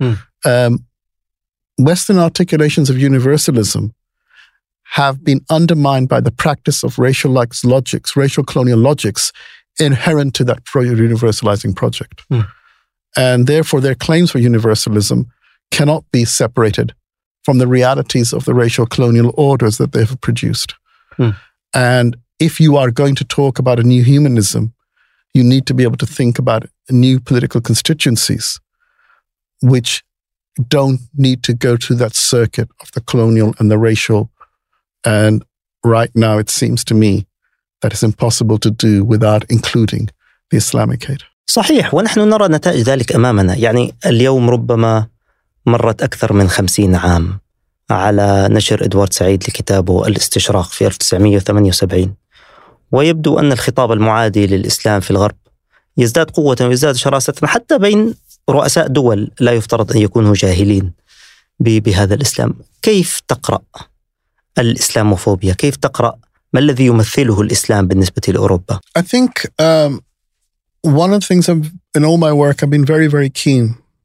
Western articulations of universalism have been undermined by the practice of racial colonial logics inherent to that universalizing project. And therefore, their claims for universalism cannot be separated from the realities of the racial colonial orders that they have produced. And if you are going to talk about a new humanism, you need to be able to think about new political constituencies, which don't need to go to that circuit of the colonial and the racial. And right now, it seems to me that it's impossible to do without including the Islamicate. صحيح، ونحن نرى نتائج ذلك أمامنا. يعني اليوم ربما مرت أكثر من 50 عام على نشر إدوارد سعيد لكتابه الاستشراق في 1978، ويبدو أن الخطاب المعادي للإسلام في الغرب يزداد قوة ويزداد شراسة حتى بين رؤساء دول لا يفترض أن يكونوا جاهلين بهذا الإسلام. كيف تقرأ الإسلاموفوبيا؟ كيف تقرأ ما الذي يمثله الإسلام بالنسبة لأوروبا؟ I think one of the things in all my work I've been very, very keen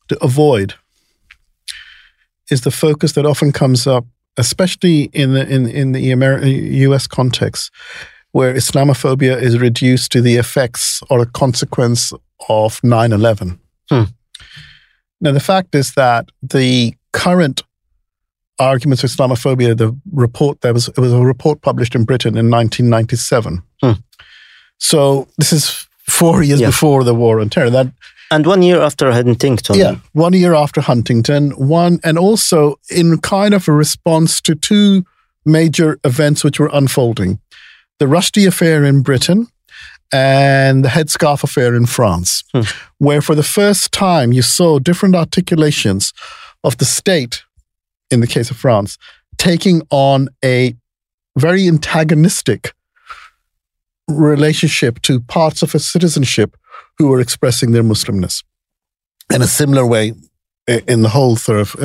to avoid is the focus that often comes up, especially in the US context, where Islamophobia is reduced to the effects or a consequence of 9/11. Now, the fact is that the current arguments for Islamophobia, it was a report published in Britain in 1997. So this is 4 years before the War on Terror. And 1 year after Huntington. Yeah, 1 year after Huntington. And also in kind of a response to two major events which were unfolding. The Rushdie affair in Britain and the headscarf affair in France, where for the first time you saw different articulations of the state, in the case of France, taking on a very antagonistic relationship to parts of a citizenship who were expressing their Muslimness. In a similar way, in the whole sort of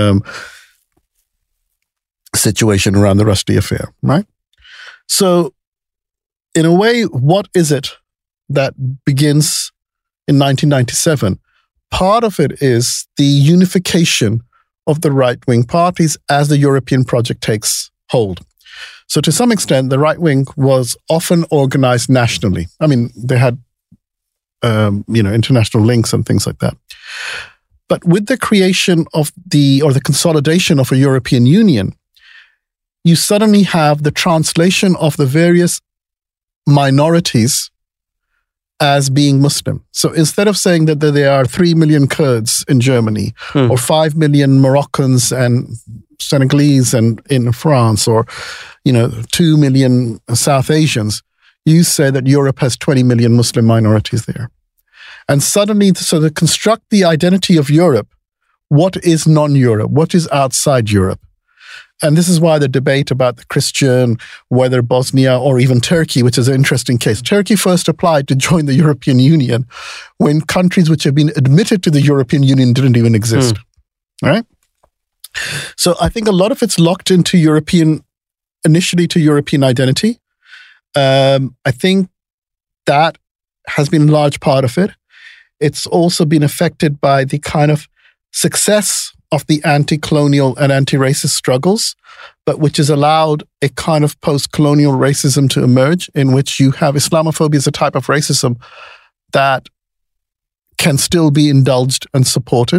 situation around the Rushdie affair, right? So, in a way, what is it that begins in 1997? Part of it is the unification of the right-wing parties as the European project takes hold. So to some extent, the right wing was often organized nationally. I mean, they had, international links and things like that. But with the creation of the consolidation of a European Union, you suddenly have the translation of the various minorities as being Muslim. So instead of saying that there are 3 million Kurds in Germany or 5 million Moroccans and Senegalese and in France, or 2 million South Asians, you say that Europe has 20 million Muslim minorities there. And suddenly, so to construct the identity of Europe, what is non-Europe? What is outside Europe? And this is why the debate about the Christian, whether Bosnia or even Turkey, which is an interesting case. Turkey first applied to join the European Union when countries which have been admitted to the European Union didn't even exist. All right? So I think a lot of it's locked into initially to European identity. I think that has been a large part of it. It's also been affected by the kind of success of the anti-colonial and anti-racist struggles, but which has allowed a kind of post-colonial racism to emerge, in which you have Islamophobia as a type of racism that can still be indulged and supported.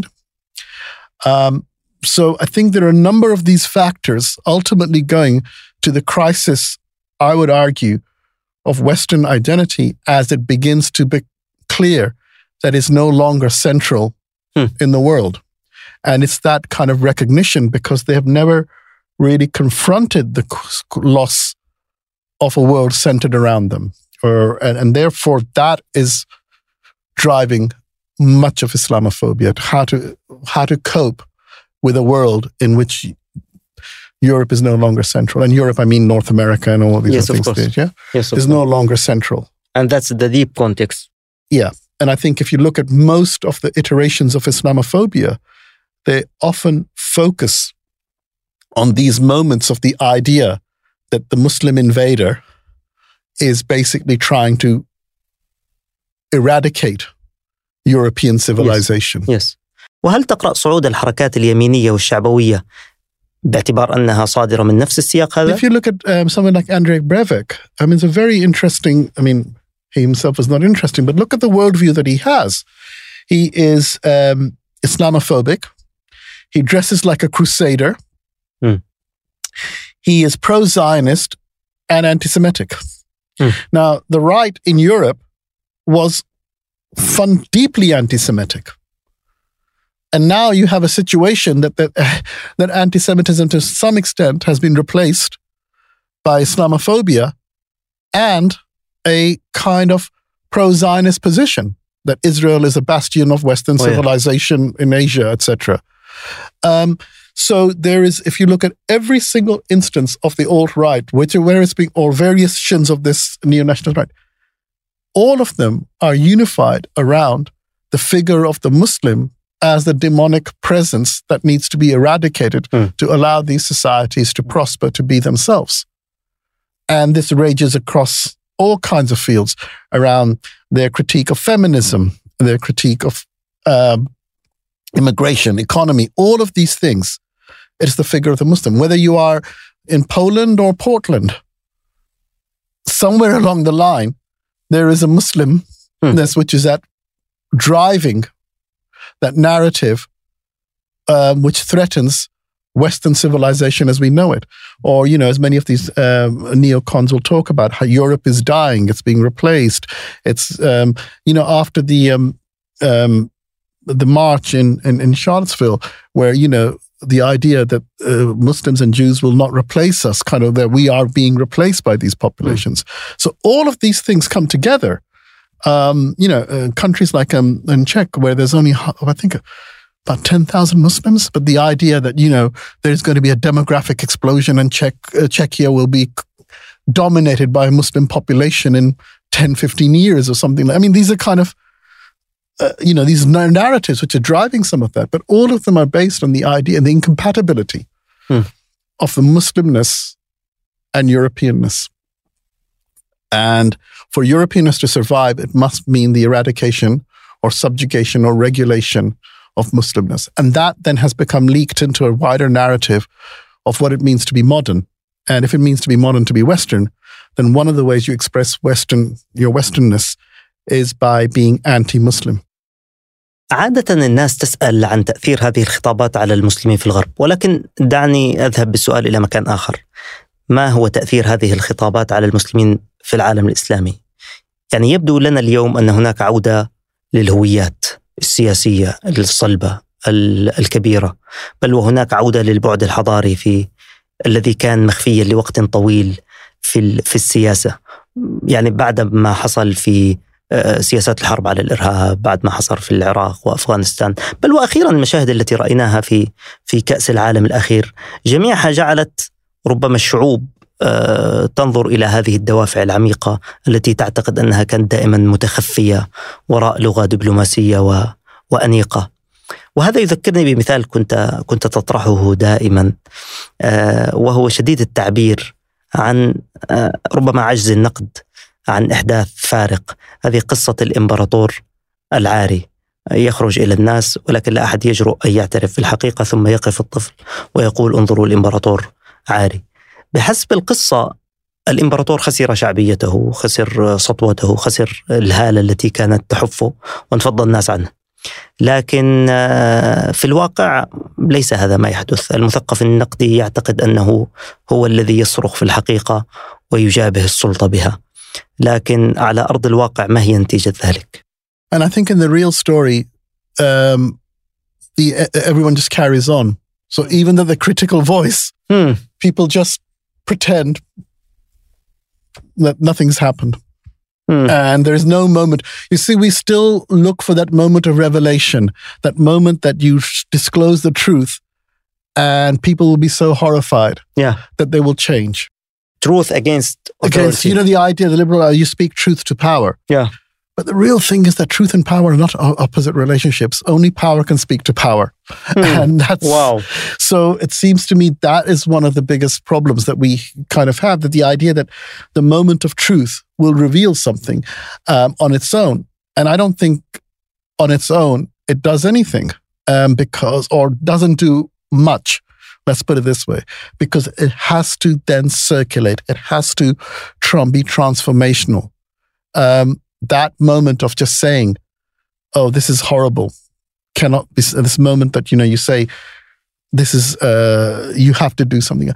So I think there are a number of these factors ultimately going to the crisis, I would argue, of Western identity as it begins to be clear that it's no longer central in the world. And it's that kind of recognition because they have never really confronted the loss of a world centered around them. And therefore, that is driving much of Islamophobia, how to cope with a world in which Europe is no longer central. And Europe, I mean North America and all of these other things. Yes, is no longer central. And that's the deep context. Yeah. And I think if you look at most of the iterations of Islamophobia, they often focus on these moments of the idea that the Muslim invader is basically trying to eradicate European civilization. Yes. وهل تقرأ صعود الحركات اليمينية والشعبوية باعتبار أنها صادرة من نفس السياق هذا? If you look at someone like Andrej Breivik, I mean, it's a very interesting, he himself is not interesting, but look at the worldview that he has. He is Islamophobic. He dresses like a crusader. He is pro-Zionist and anti-Semitic. Now, the right in Europe was deeply anti-Semitic. And now you have a situation that anti-Semitism to some extent has been replaced by Islamophobia and a kind of pro-Zionist position that Israel is a bastion of Western civilization in Asia, etc. So there is, if you look at every single instance of the alt-right, where it's being, or variations of this neo-national right, all of them are unified around the figure of the Muslim as the demonic presence that needs to be eradicated to allow these societies to prosper, to be themselves. And this rages across all kinds of fields around their critique of feminism, their critique of immigration, economy, all of these things, it's the figure of the Muslim. Whether you are in Poland or Portland, somewhere along the line, there is a Muslimness which is driving that narrative which threatens Western civilization as we know it. Or, as many of these neocons will talk about, how Europe is dying, it's being replaced. It's, after the march in Charlottesville, where, the idea that Muslims and Jews will not replace us, kind of that we are being replaced by these populations. So all of these things come together. Countries like in Czech, where there's only, I think, about 10,000 Muslims, but the idea that, there's going to be a demographic explosion and Czechia will be dominated by a Muslim population in 10, 15 years or something. I mean, these are kind of, these narratives which are driving some of that, but all of them are based on the idea and the incompatibility of the Muslimness and Europeanness. And for Europeanness to survive, it must mean the eradication or subjugation or regulation of Muslimness. And that then has become leaked into a wider narrative of what it means to be modern. And if it means to be modern, to be Western, then one of the ways you express your Westernness is by being anti-Muslim. عادة الناس تسأل عن تأثير هذه الخطابات على المسلمين في الغرب، ولكن دعني أذهب بالسؤال إلى مكان آخر. ما هو تأثير هذه الخطابات على المسلمين في العالم الإسلامي؟ يعني يبدو لنا اليوم أن هناك عودة للهويات السياسية الصلبة الكبيرة، بل وهناك عودة للبعد الحضاري الذي كان مخفيا لوقت طويل في السياسة. يعني بعد ما حصل في سياسات الحرب على الإرهاب، بعد ما حصل في العراق وأفغانستان، بل وأخيرا المشاهد التي رأيناها في كأس العالم الأخير، جميعها جعلت ربما الشعوب تنظر إلى هذه الدوافع العميقة التي تعتقد أنها كانت دائما متخفية وراء لغة دبلوماسية وأنيقة. وهذا يذكرني بمثال كنت تطرحه دائما، وهو شديد التعبير عن ربما عجز النقد عن إحداث فارق. هذه قصة الإمبراطور العاري، يخرج إلى الناس ولكن لا أحد يجرؤ أن يعترف بالحقيقة، ثم يقف الطفل ويقول انظروا الإمبراطور عاري. بحسب القصة الإمبراطور خسر شعبيته، خسر سطوته، خسر الهالة التي كانت تحفه وانفض الناس عنه. لكن في الواقع ليس هذا ما يحدث. المثقف النقدي يعتقد أنه هو الذي يصرخ في الحقيقة ويجابه السلطة بها، لكن على أرض الواقع ما هي نتيجة ذلك؟ And I think in the real story, everyone just carries on. So even though the critical voice, people just pretend that nothing's happened. And there's no moment. You see, we still look for that moment of revelation, that moment that you disclose the truth and people will be so horrified that they will change. Truth against authority. Against, the idea, the liberal, you speak truth to power. Yeah. But the real thing is that truth and power are not opposite relationships. Only power can speak to power. And that's... Wow. So it seems to me that is one of the biggest problems that we kind of have, that the idea that the moment of truth will reveal something on its own. And I don't think on its own it does anything or doesn't do much. Let's put it this way, because it has to then circulate. It has to be transformational. That moment of just saying, oh, this is horrible, cannot be, this moment that, you say, this is, you have to do something.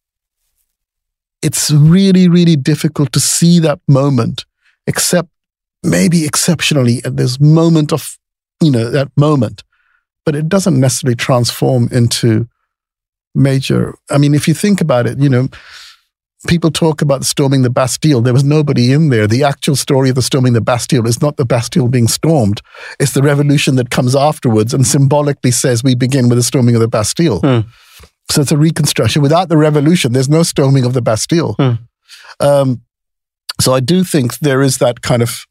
It's really, really difficult to see that moment, except maybe exceptionally at this moment of, that moment. But it doesn't necessarily transform into major. I mean, if you think about it, people talk about storming the Bastille. There was nobody in there. The actual story of the storming the Bastille is not the Bastille being stormed. It's the revolution that comes afterwards and symbolically says we begin with the storming of the Bastille. So it's a reconstruction. Without the revolution, there's no storming of the Bastille. So I do think there is that kind of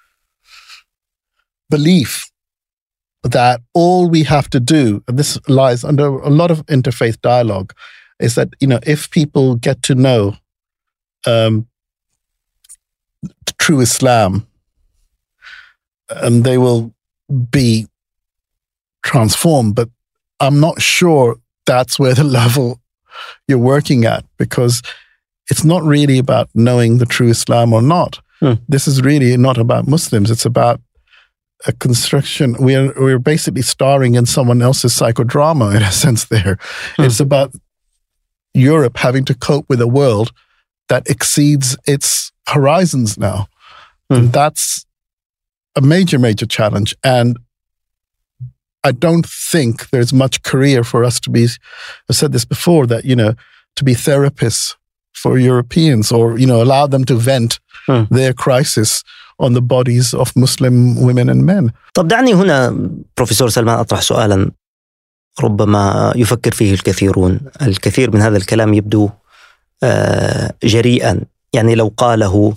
belief that all we have to do, and this lies under a lot of interfaith dialogue, is that, if people get to know true Islam, they will be transform, but I'm not sure that's where the level you're working at, because it's not really about knowing the true Islam or not. This is really not about Muslims. It's about a construction. We're basically starring in someone else's psychodrama in a sense there. It's about Europe having to cope with a world that exceeds its horizons now. And that's a major, major challenge. And I don't think there's much career for us to be, I've said this before, that, to be therapists for Europeans, or, allow them to vent their crisis on the bodies of Muslim women and men. طب دعني هنا بروفيسور سلمان أطرح سؤالا ربما يفكر فيه الكثيرون. الكثير من هذا الكلام يبدو جريئا، يعني لو قاله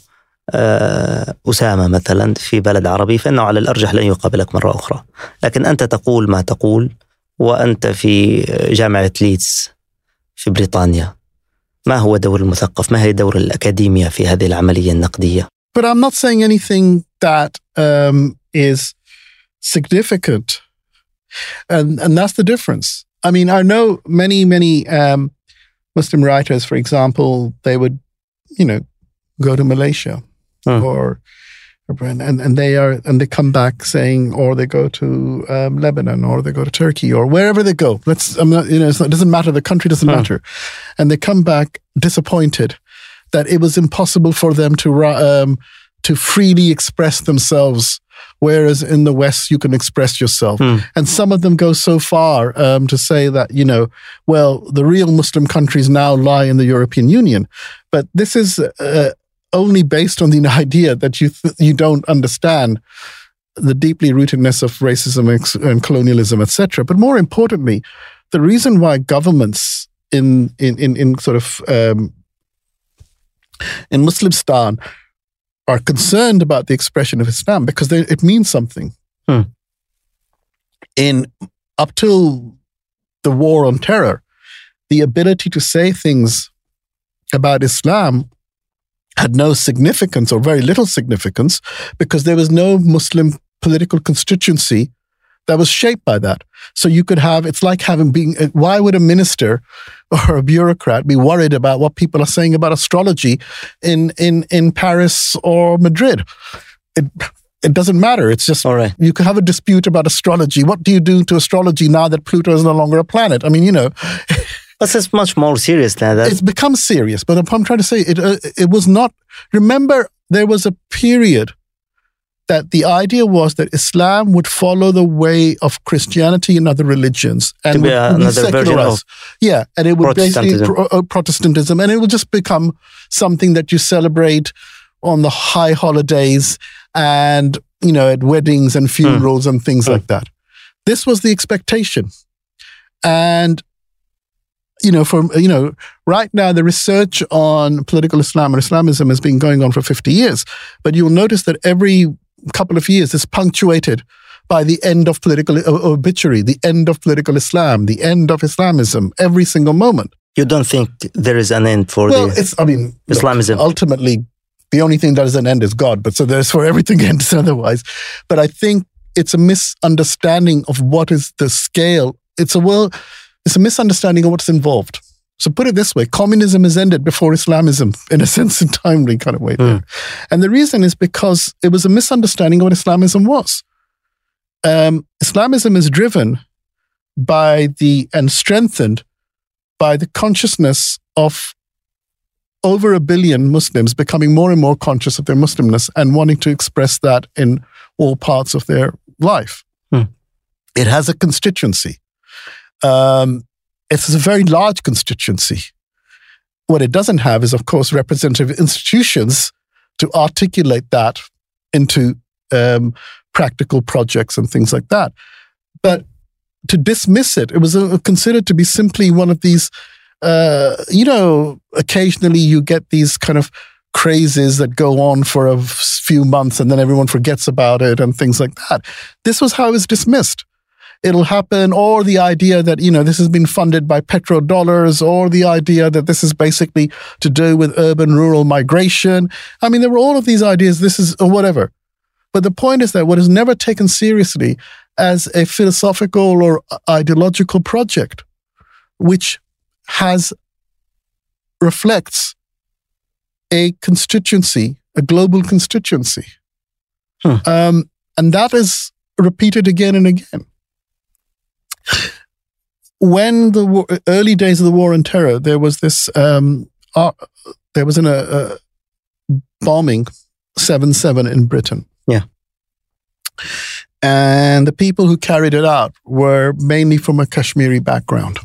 أسامة مثلا في بلد عربي فإنه على الأرجح لن يقابلك مرة أخرى. لكن أنت تقول ما تقول وأنت في جامعة ليدز في بريطانيا. ما هو دور المثقف؟ ما هي دور الأكاديمية في هذه العملية النقدية؟ But I'm not saying anything that is significant. And that's the difference. I mean, I know many Muslim writers, for example, they would, go to Malaysia or and they come back saying, or they go to Lebanon, or they go to Turkey, or wherever they go. It doesn't matter. The country doesn't matter, and they come back disappointed that it was impossible for them to freely express themselves, whereas in the West you can express yourself. And some of them go so far to say that, the real Muslim countries now lie in the European Union. But this is only based on the idea that you don't understand the deeply rootedness of racism and colonialism, etc. But more importantly, the reason why governments in Muslimstan are concerned about the expression of Islam, because it means something. Up till the war on terror, the ability to say things about Islam had no significance, or very little significance, because there was no Muslim political constituency that was shaped by that. So you could have, it's like why would a minister or a bureaucrat be worried about what people are saying about astrology in Paris or Madrid? It doesn't matter. It's just, all right. You can have a dispute about astrology. What do you do to astrology now that Pluto is no longer a planet? I mean, But it's much more serious than that. It's become serious. But I'm trying to say, it was not, remember, there was a period that the idea was that Islam would follow the way of Christianity and other religions, and would be another version of and it would Protestantism. basically Protestantism, and it would just become something that you celebrate on the high holidays and at weddings and funerals and things like that. This was the expectation, and right now the research on political Islam and Islamism has been going on for 50 years, but you'll notice that every couple of years is punctuated by the end of political obituary, the end of political Islam, the end of Islamism, every single moment. You don't think there is an end for Islamism? Look, ultimately, the only thing that is an end is God, but so there's for everything ends otherwise. But I think it's a misunderstanding of what is the scale. It's a misunderstanding of what's involved. So put it this way, communism has ended before Islamism, in a sense, in timely kind of way there. And the reason is because it was a misunderstanding of what Islamism was. Islamism is driven by and strengthened by the consciousness of over 1 billion Muslims becoming more and more conscious of their Muslimness and wanting to express that in all parts of their life. It has a constituency. It's a very large constituency. What it doesn't have is, of course, representative institutions to articulate that into practical projects and things like that. But to dismiss it was considered to be simply one of these, occasionally you get these kind of crazes that go on for a few months and then everyone forgets about it and things like that. This was how it was dismissed. It'll happen, or the idea that, this has been funded by petrodollars, or the idea that this is basically to do with urban-rural migration. I mean, there were all of these ideas, or whatever. But the point is that what is never taken seriously as a philosophical or ideological project, which reflects a constituency, a global constituency. And that is repeated again and again. When the early days of the war on terror, there was this, there was a bombing 7/7 in Britain. Yeah. And the people who carried it out were mainly from a Kashmiri background.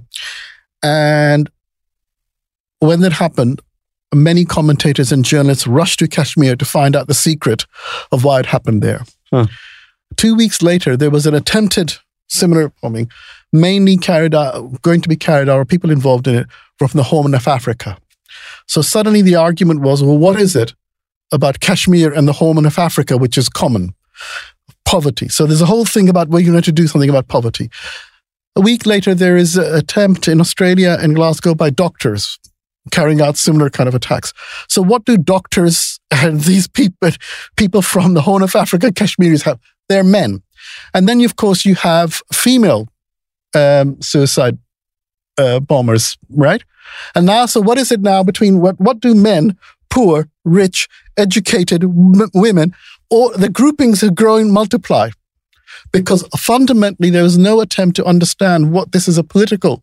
And when that happened, many commentators and journalists rushed to Kashmir to find out the secret of why it happened there. 2 weeks later, there was an attempted similar bombing, mainly going to be carried out, or people involved in it, from the Horn of Africa. So suddenly the argument was, well, what is it about Kashmir and the Horn of Africa, which is common? Poverty. So there's a whole thing about, well, you need to do something about poverty. A week later, there is an attempt in Australia and Glasgow by doctors carrying out similar kind of attacks. So what do doctors and these people from the Horn of Africa, Kashmiris, have? They're men. And then, of course, you have female suicide bombers, right? And now, so what is it now between what do men, poor, rich, educated women, or the groupings have grown, multiply? Because fundamentally, there was no attempt to understand what this is a political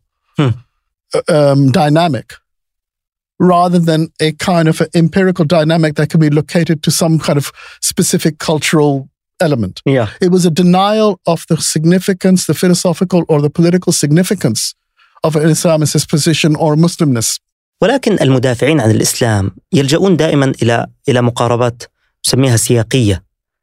dynamic, rather than a kind of an empirical dynamic that can be located to some kind of specific cultural element. Yeah. It was a denial of the significance, the philosophical or the political significance of an Islamist position or Muslimness. ولكن المدافعين عن الإسلام يلجؤون دائما إلى مقاربات نسميها سياقية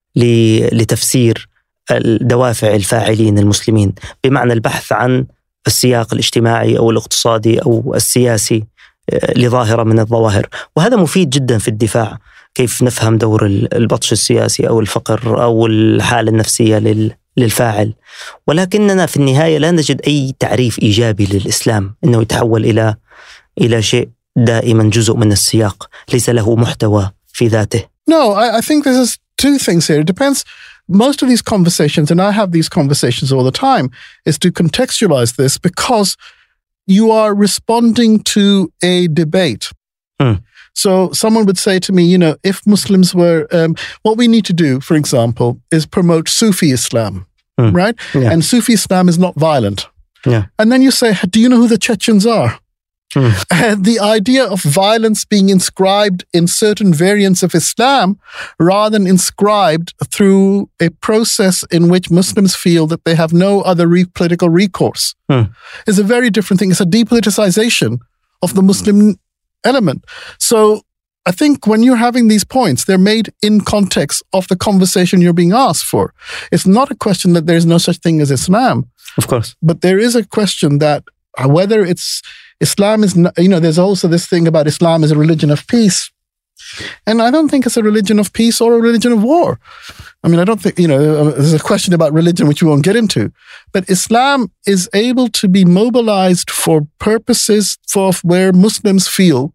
لتفسير الدوافع الفاعلين المسلمين، بمعنى البحث عن السياق الاجتماعي أو الاقتصادي أو السياسي لظاهرة من الظواهر. وهذا مفيد جدا في الدفاع، كيف نفهم دور البطش السياسي أو الفقر أو الحالة النفسية للفاعل. ولكننا في النهاية لا نجد أي تعريف إيجابي للإسلام، إنه يتحول إلى شيء دائما جزء من السياق، ليس له محتوى في ذاته. No, I think there's two things here. It depends. Most of these conversations, and I have these conversations all the time, is to contextualize this because you are responding to a debate. So someone would say to me, if Muslims were, what we need to do, for example, is promote Sufi Islam, right? Yeah. And Sufi Islam is not violent. Yeah. And then you say, do you know who the Chechens are? And the idea of violence being inscribed in certain variants of Islam rather than inscribed through a process in which Muslims feel that they have no other political recourse is a very different thing. It's a depoliticization of the Muslim element. So I think when you're having these points, they're made in context of the conversation you're being asked for. It's not a question that there's no such thing as Islam. Of course. But there is a question that whether it's Islam is, there's also this thing about Islam as a religion of peace. And I don't think it's a religion of peace or a religion of war. I mean, I don't think, there's a question about religion which we won't get into. But Islam is able to be mobilized for purposes for where Muslims feel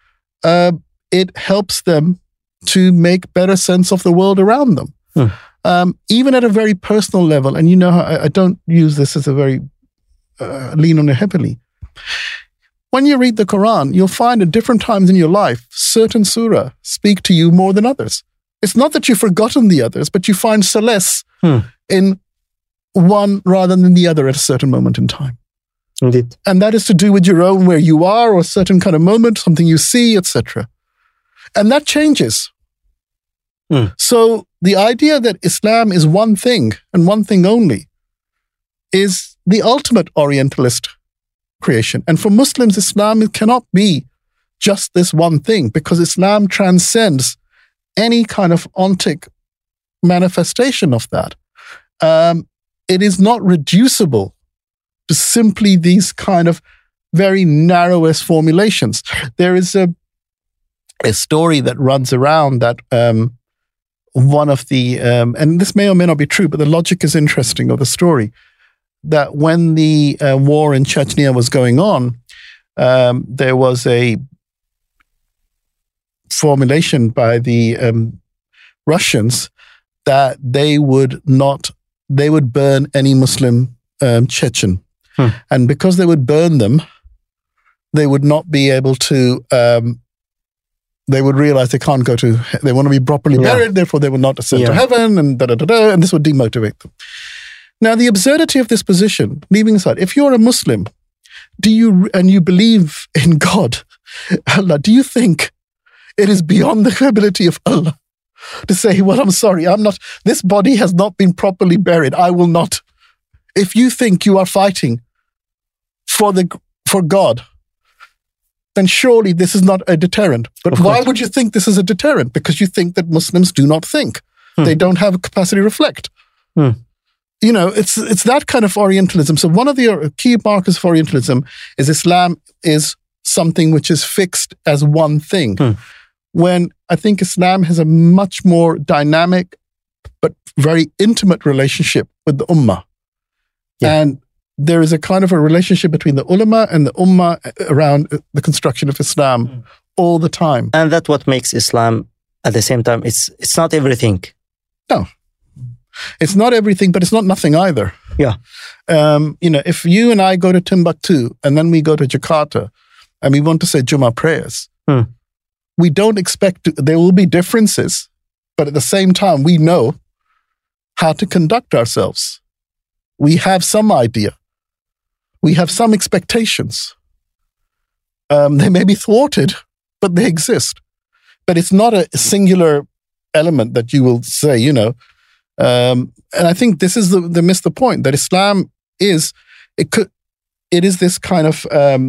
it helps them to make better sense of the world around them. Even at a very personal level. And I don't use this as a very lean on it heavily. When you read the Quran, you'll find at different times in your life, certain surah speak to you more than others. It's not that you've forgotten the others, but you find solace in one rather than the other at a certain moment in time. Indeed. And that is to do with your own, where you are, or a certain kind of moment, something you see, etc. And that changes. So the idea that Islam is one thing and one thing only is the ultimate Orientalist creation. And for Muslims, Islam cannot be just this one thing, because Islam transcends any kind of ontic manifestation of that. It is not reducible to simply these kind of very narrowest formulations. There is a story that runs around that one of the, and this may or may not be true, but the logic is interesting of the story, that when the war in Chechnya was going on, there was a formulation by the Russians that they would not they would burn any Muslim Chechen. And because they would burn them, they would not be able to, they would realize they can't go to, they want to be properly buried, therefore they will not ascend to heaven, and and this would demotivate them. Now, the absurdity of this position, leaving aside, if you're a Muslim, and you believe in God, Allah, do you think it is beyond the ability of Allah to say, well, I'm sorry, this body has not been properly buried, I will not. If you think you are fighting for God, then surely this is not a deterrent. But why would you think this is a deterrent? Because you think that Muslims do not think. They don't have a capacity to reflect. It's that kind of Orientalism. So one of the key markers of Orientalism is Islam is something which is fixed as one thing. When I think Islam has a much more dynamic but very intimate relationship with the Ummah. And there is a kind of a relationship between the ulama and the Ummah around the construction of Islam all the time. And that's what makes Islam, at the same time, it's not everything. No. It's not everything, but it's not nothing either. Yeah. If you and I go to Timbuktu and then we go to Jakarta and we want to say Jummah prayers, we don't expect there will be differences, but at the same time, we know how to conduct ourselves. We have some idea. We have some expectations. They may be thwarted, but they exist. But it's not a singular element that you will say, and I think this is the miss the point, that Islam is, it is this kind of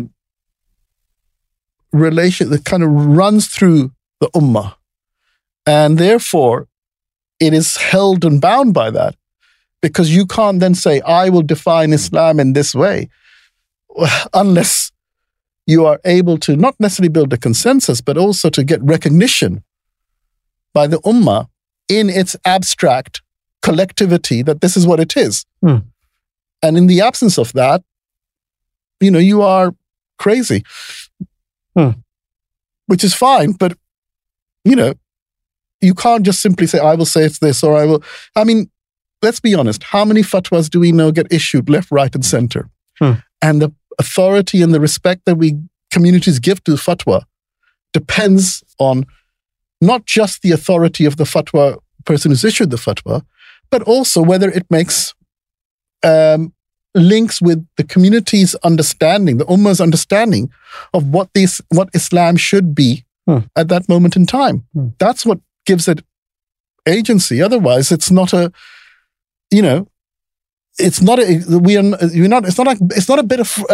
relation that kind of runs through the Ummah. And therefore, it is held and bound by that. Because you can't then say, I will define Islam in this way, unless you are able to not necessarily build a consensus, but also to get recognition by the Ummah in its abstract collectivity that this is what it is. And in the absence of that, you are crazy, which is fine, but, you can't just simply say, I will say it's this, or let's be honest, how many fatwas do we know get issued left, right, and center? And the authority and the respect that communities give to fatwa depends on not just the authority of the fatwa person who's issued the fatwa, but also whether it makes links with the community's understanding, the Ummah's understanding of what Islam should be at that moment in time. That's what gives it agency. Otherwise, it's not a it's not a bit of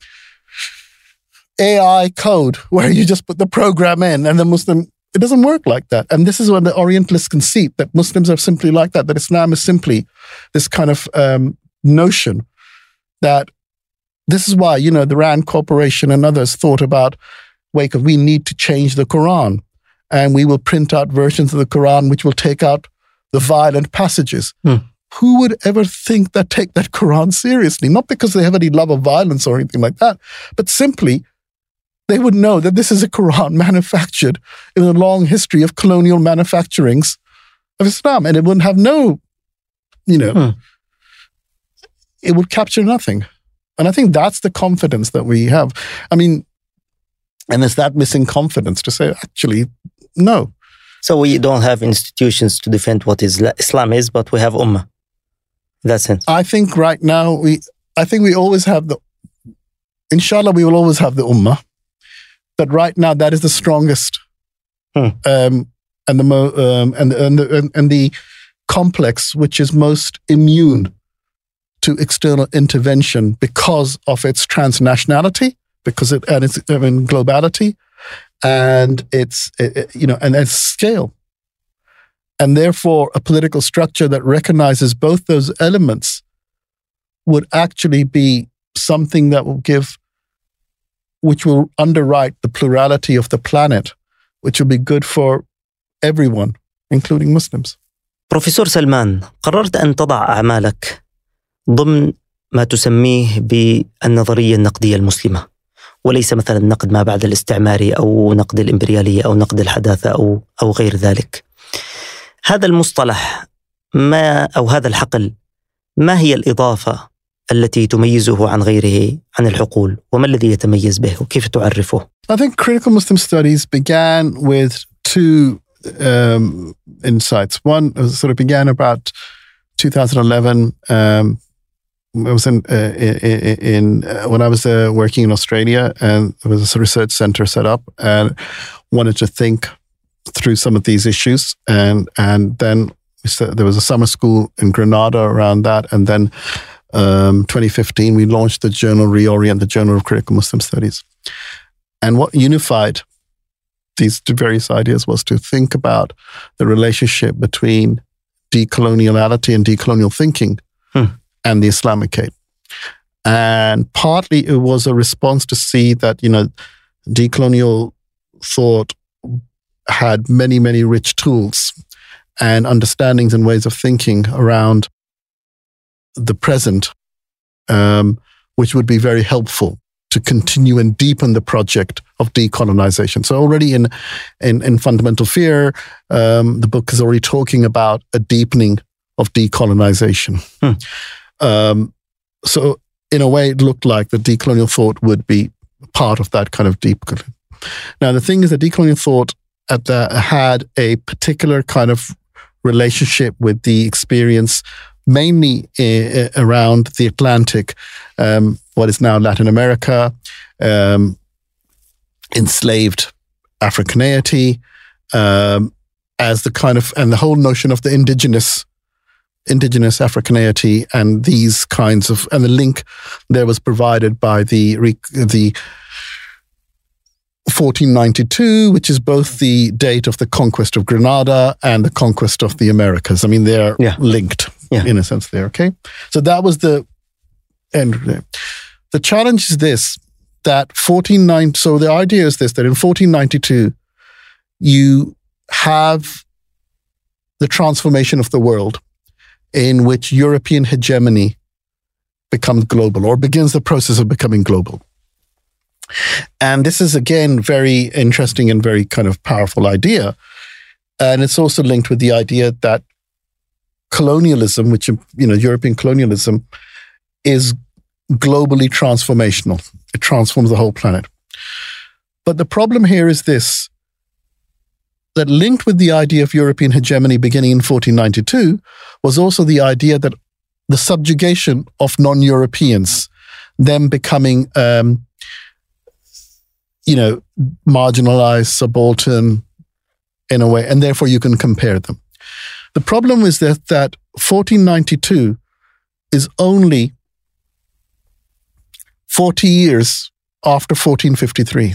AI code where you just put the program in and the Muslim. It doesn't work like that. And this is when the Orientalists conceit that Muslims are simply like that Islam is simply this kind of notion that this is why, the Rand Corporation and others thought about, we need to change the Quran, and we will print out versions of the Quran which will take out the violent passages. Who would ever take that Quran seriously? Not because they have any love of violence or anything like that, but simply they would know that this is a Quran manufactured in a long history of colonial manufacturings of Islam, and it wouldn't have it would capture nothing. And I think that's the confidence that we have. And it's that missing confidence to say, actually, no. So we don't have institutions to defend what Islam is, but we have Ummah. In that sense. I think right now, we always have inshallah, we will always have the Ummah. But right now, that is the strongest and the complex which is most immune to external intervention because of its transnationality, and its globality, and its scale. And therefore, a political structure that recognizes both those elements would actually be something that which will underwrite the plurality of the planet, which will be good for everyone, including Muslims. بروفيسور سلمان، قررت أن تضع أعمالك ضمن ما تسميه بالنظرية النقدية المسلمة، وليس مثلا نقد ما بعد الاستعماري أو نقد الإمبريالية أو نقد الحداثة أو غير ذلك. هذا المصطلح أو هذا الحقل ما هي الإضافة التي تميزه عن غيره عن الحقول؟ وما الذي يتميز به وكيف تعرفه؟ I think critical Muslim studies began with two insights. One sort of began about 2011. I was when I was working in Australia, and there was a research center set up, and wanted to think through some of these issues. And then there was a summer school in Granada around that, and then 2015 we launched the journal Reorient, the Journal of Critical Muslim Studies. And what unified these various ideas was to think about the relationship between decoloniality and decolonial thinking and the Islamicate. And partly it was a response to see that, decolonial thought had many, many rich tools and understandings and ways of thinking around the present, which would be very helpful to continue and deepen the project of decolonization. So already in Fundamental Fear, the book is already talking about a deepening of decolonization. So in a way, it looked like the decolonial thought would be part of that kind of deep. Now, the thing is that decolonial thought had a particular kind of relationship with the experience, mainly around the Atlantic, what is now Latin America, enslaved Africaneity, as the kind of, and the whole notion of the indigenous Africaneity, and these kinds of, and the link there was provided by the 1492, which is both the date of the conquest of Granada and the conquest of the Americas. I mean, they're linked in a sense there, okay? So that was the end there. The challenge is this, that so the idea is this, that in 1492, you have the transformation of the world in which European hegemony becomes global, or begins the process of becoming global. And this is, again, very interesting and very kind of powerful idea. And it's also linked with the idea that colonialism, which, European colonialism, is globally transformational. It transforms the whole planet. But the problem here is this, that linked with the idea of European hegemony beginning in 1492 was also the idea that the subjugation of non-Europeans, them becoming, marginalized, subaltern in a way, and therefore you can compare them. The problem is that 1492 is only 40 years after 1453.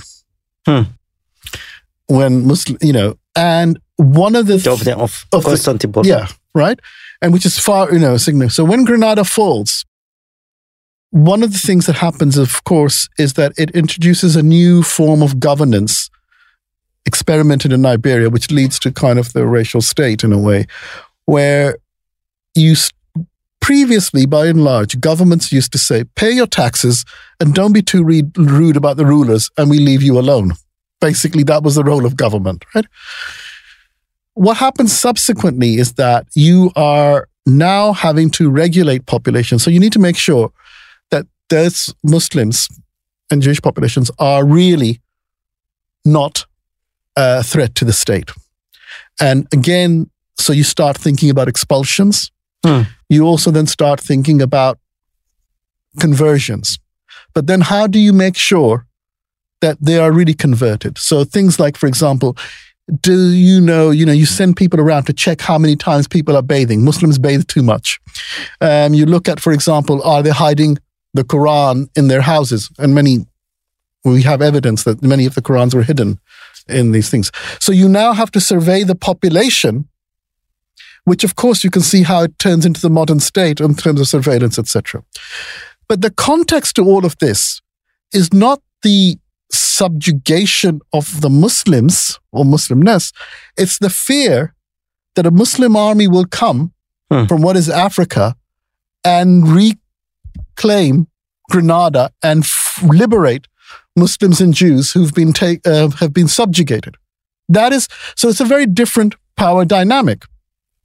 When Muslim, and one of the of Constantinople. Yeah, right? And which is far, significant. So when Granada falls, one of the things that happens, of course, is that it introduces a new form of governance experimented in Iberia, which leads to kind of the racial state in a way, where previously, by and large, governments used to say, pay your taxes and don't be too rude about the rulers and we leave you alone. Basically, that was the role of government, right? What happens subsequently is that you are now having to regulate population. So you need to make sure that those Muslims and Jewish populations are really not a threat to the state. And again, so you start thinking about expulsions. You also then start thinking about conversions. But then how do you make sure that they are really converted? So things like, for example, you send people around to check how many times people are bathing. Muslims bathe too much. You look at, for example, are they hiding the Quran in their houses? And we have evidence that many of the Qurans were hidden in these things. So you now have to survey the population, which of course you can see how it turns into the modern state in terms of surveillance, etc. But the context to all of this is not the subjugation of the Muslims or Muslimness. It's the fear that a Muslim army will come from what is Africa and reclaim Granada and liberate Muslims and Jews who've been have been subjugated. So it's a very different power dynamic.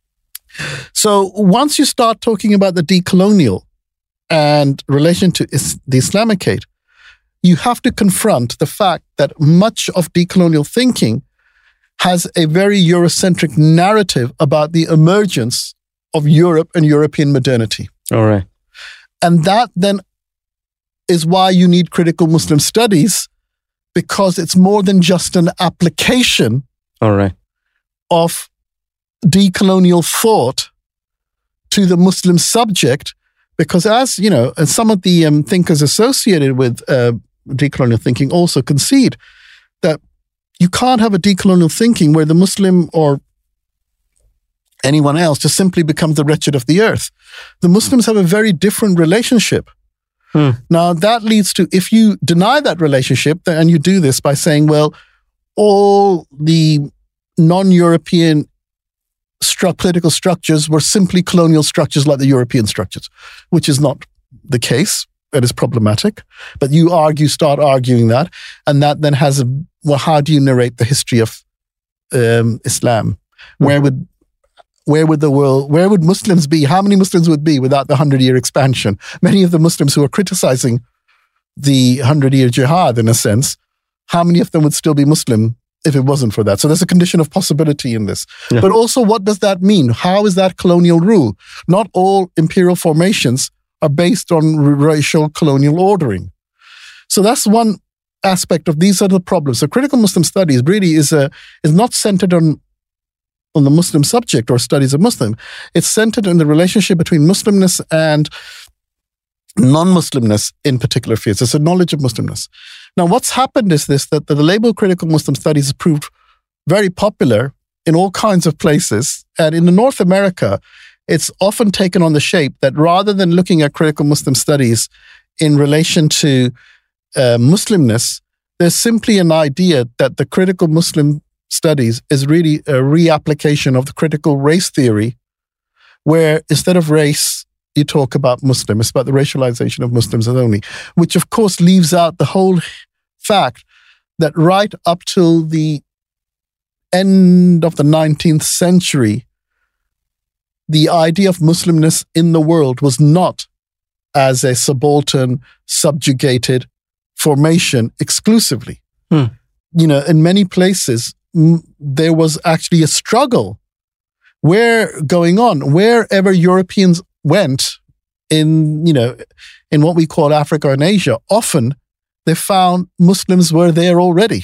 So once you start talking about the decolonial and relation to the Islamicate, you have to confront the fact that much of decolonial thinking has a very Eurocentric narrative about the emergence of Europe and European modernity. All right. And that then is why you need critical Muslim studies, because it's more than just an application All right. of decolonial thought to the Muslim subject. Because as you know, and some of the thinkers associated with decolonial thinking also concede that you can't have a decolonial thinking where the Muslim or anyone else just simply becomes the wretched of the earth. The Muslims have a very different relationship. Now, that leads to, if you deny that relationship, and you do this by saying, well, all the non-European political structures were simply colonial structures like the European structures, which is not the case. It is problematic. But you start arguing that, and that then has how do you narrate the history of Islam? Where would Muslims be? How many Muslims would be without the 100-year expansion? Many of the Muslims who are criticizing the 100-year jihad, in a sense, how many of them would still be Muslim if it wasn't for that? So there's a condition of possibility in this. Yeah. But also, what does that mean? How is that colonial rule? Not all imperial formations are based on racial colonial ordering. So that's one aspect of these are the problems. So critical Muslim studies really is not centered on the Muslim subject or studies of Muslim. It's centered in the relationship between Muslimness and non-Muslimness in particular fields. It's a knowledge of Muslimness. Now, what's happened is that the label critical Muslim studies has proved very popular in all kinds of places. And in North America, it's often taken on the shape that rather than looking at critical Muslim studies in relation to Muslimness, there's simply an idea that the critical Muslim studies is really a reapplication of the critical race theory, where instead of race, you talk about Muslim. It's about the racialization of Muslims only, which of course leaves out the whole fact that right up till the end of the 19th century, the idea of Muslimness in the world was not as a subaltern, subjugated formation exclusively. You know, in many places, there was actually a struggle going on wherever Europeans went in what we call Africa and Asia. Often they found Muslims were there already.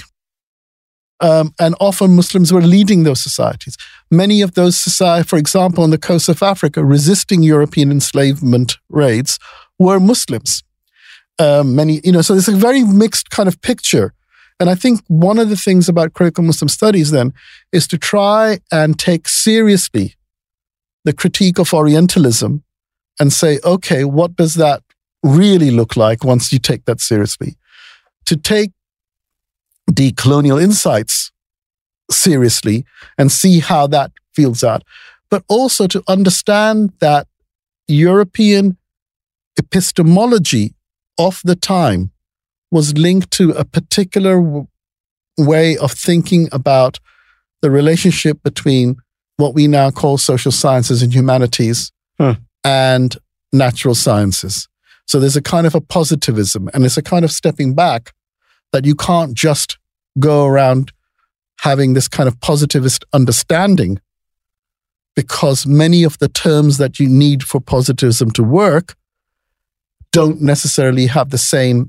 And often Muslims were leading those societies. Many of those societies, for example, on the coast of Africa, resisting European enslavement raids, were Muslims. So there's a very mixed kind of picture. And I think one of the things about critical Muslim studies then is to try and take seriously the critique of Orientalism and say, okay, what does that really look like once you take that seriously? To take the colonial insights seriously and see how that feels out, but also to understand that European epistemology of the time was linked to a particular way of thinking about the relationship between what we now call social sciences and humanities and natural sciences. So there's a kind of a positivism, and it's a kind of stepping back that you can't just go around having this kind of positivist understanding, because many of the terms that you need for positivism to work don't necessarily have the same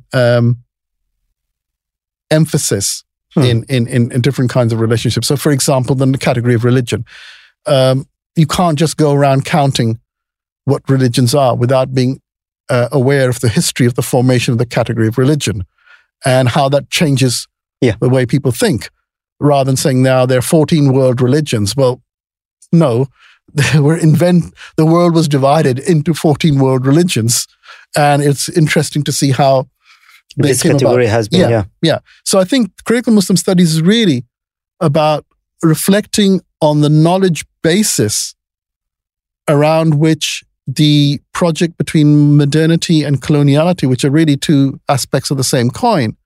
emphasis in different kinds of relationships. So, for example, the category of religion. You can't just go around counting what religions are without being aware of the history of the formation of the category of religion and how that changes the way people think, rather than saying now there are 14 world religions. Well, no, the world was divided into 14 world religions. And it's interesting to see how this category has been. Yeah. So I think critical Muslim studies is really about reflecting on the knowledge basis around which the project between modernity and coloniality, which are really two aspects of the same coin,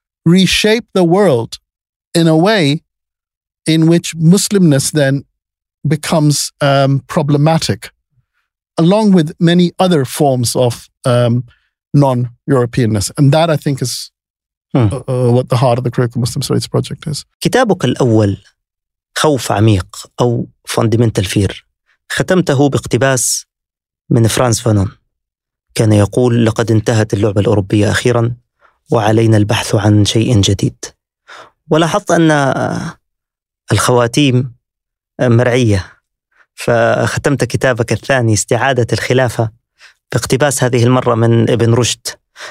reshape the world in a way in which Muslimness then becomes problematic, along with many other forms of non-Europeanness. And that, I think, is what the heart of the Critical Muslim Studies project is. كتابك الأول خوف عميق أو Fundamental Fear ختمته باقتباس من فرانس فانون، كان يقول: لقد انتهت اللعبة الأوروبية أخيرا وعلينا البحث عن شيء جديد. ولاحظت أن الخواتيم مرعية، فختمت كتابك الثاني استعادة الخلافة باقتباس هذه المرة من ابن رشد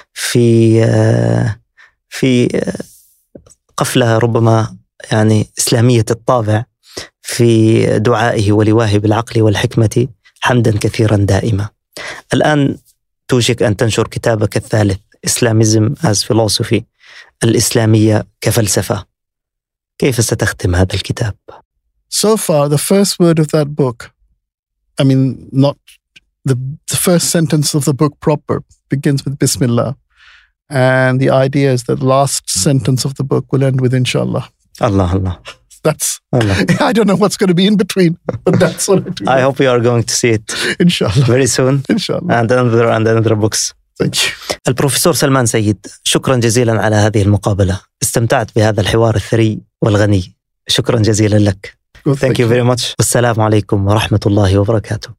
في قفلة ربما يعني إسلامية الطابع في دعائه ولواه بالعقل والحكمة حمدا كثيرا دائما. الآن توشك أن تنشر كتابك الثالث Islamism as Philosophy، الإسلامية كفلسفة. كيف ستختم هذا الكتاب؟ So far, the first word of that book, I mean, not the first sentence of the book proper begins with Bismillah. And the idea is that the last sentence of the book will end with Inshallah. Allah. That's, Allah. I don't know what's going to be in between, but that's what I do. I hope you are going to see it Inshallah. very soon. Inshallah. And another books. Thank you. البروفيسور سلمان سيد، شكرا جزيلا على هذه المقابلة. استمتعت بهذا الحوار الثري والغني. شكرا جزيلا لك. Well, Thank you very much. والسلام عليكم ورحمة الله وبركاته.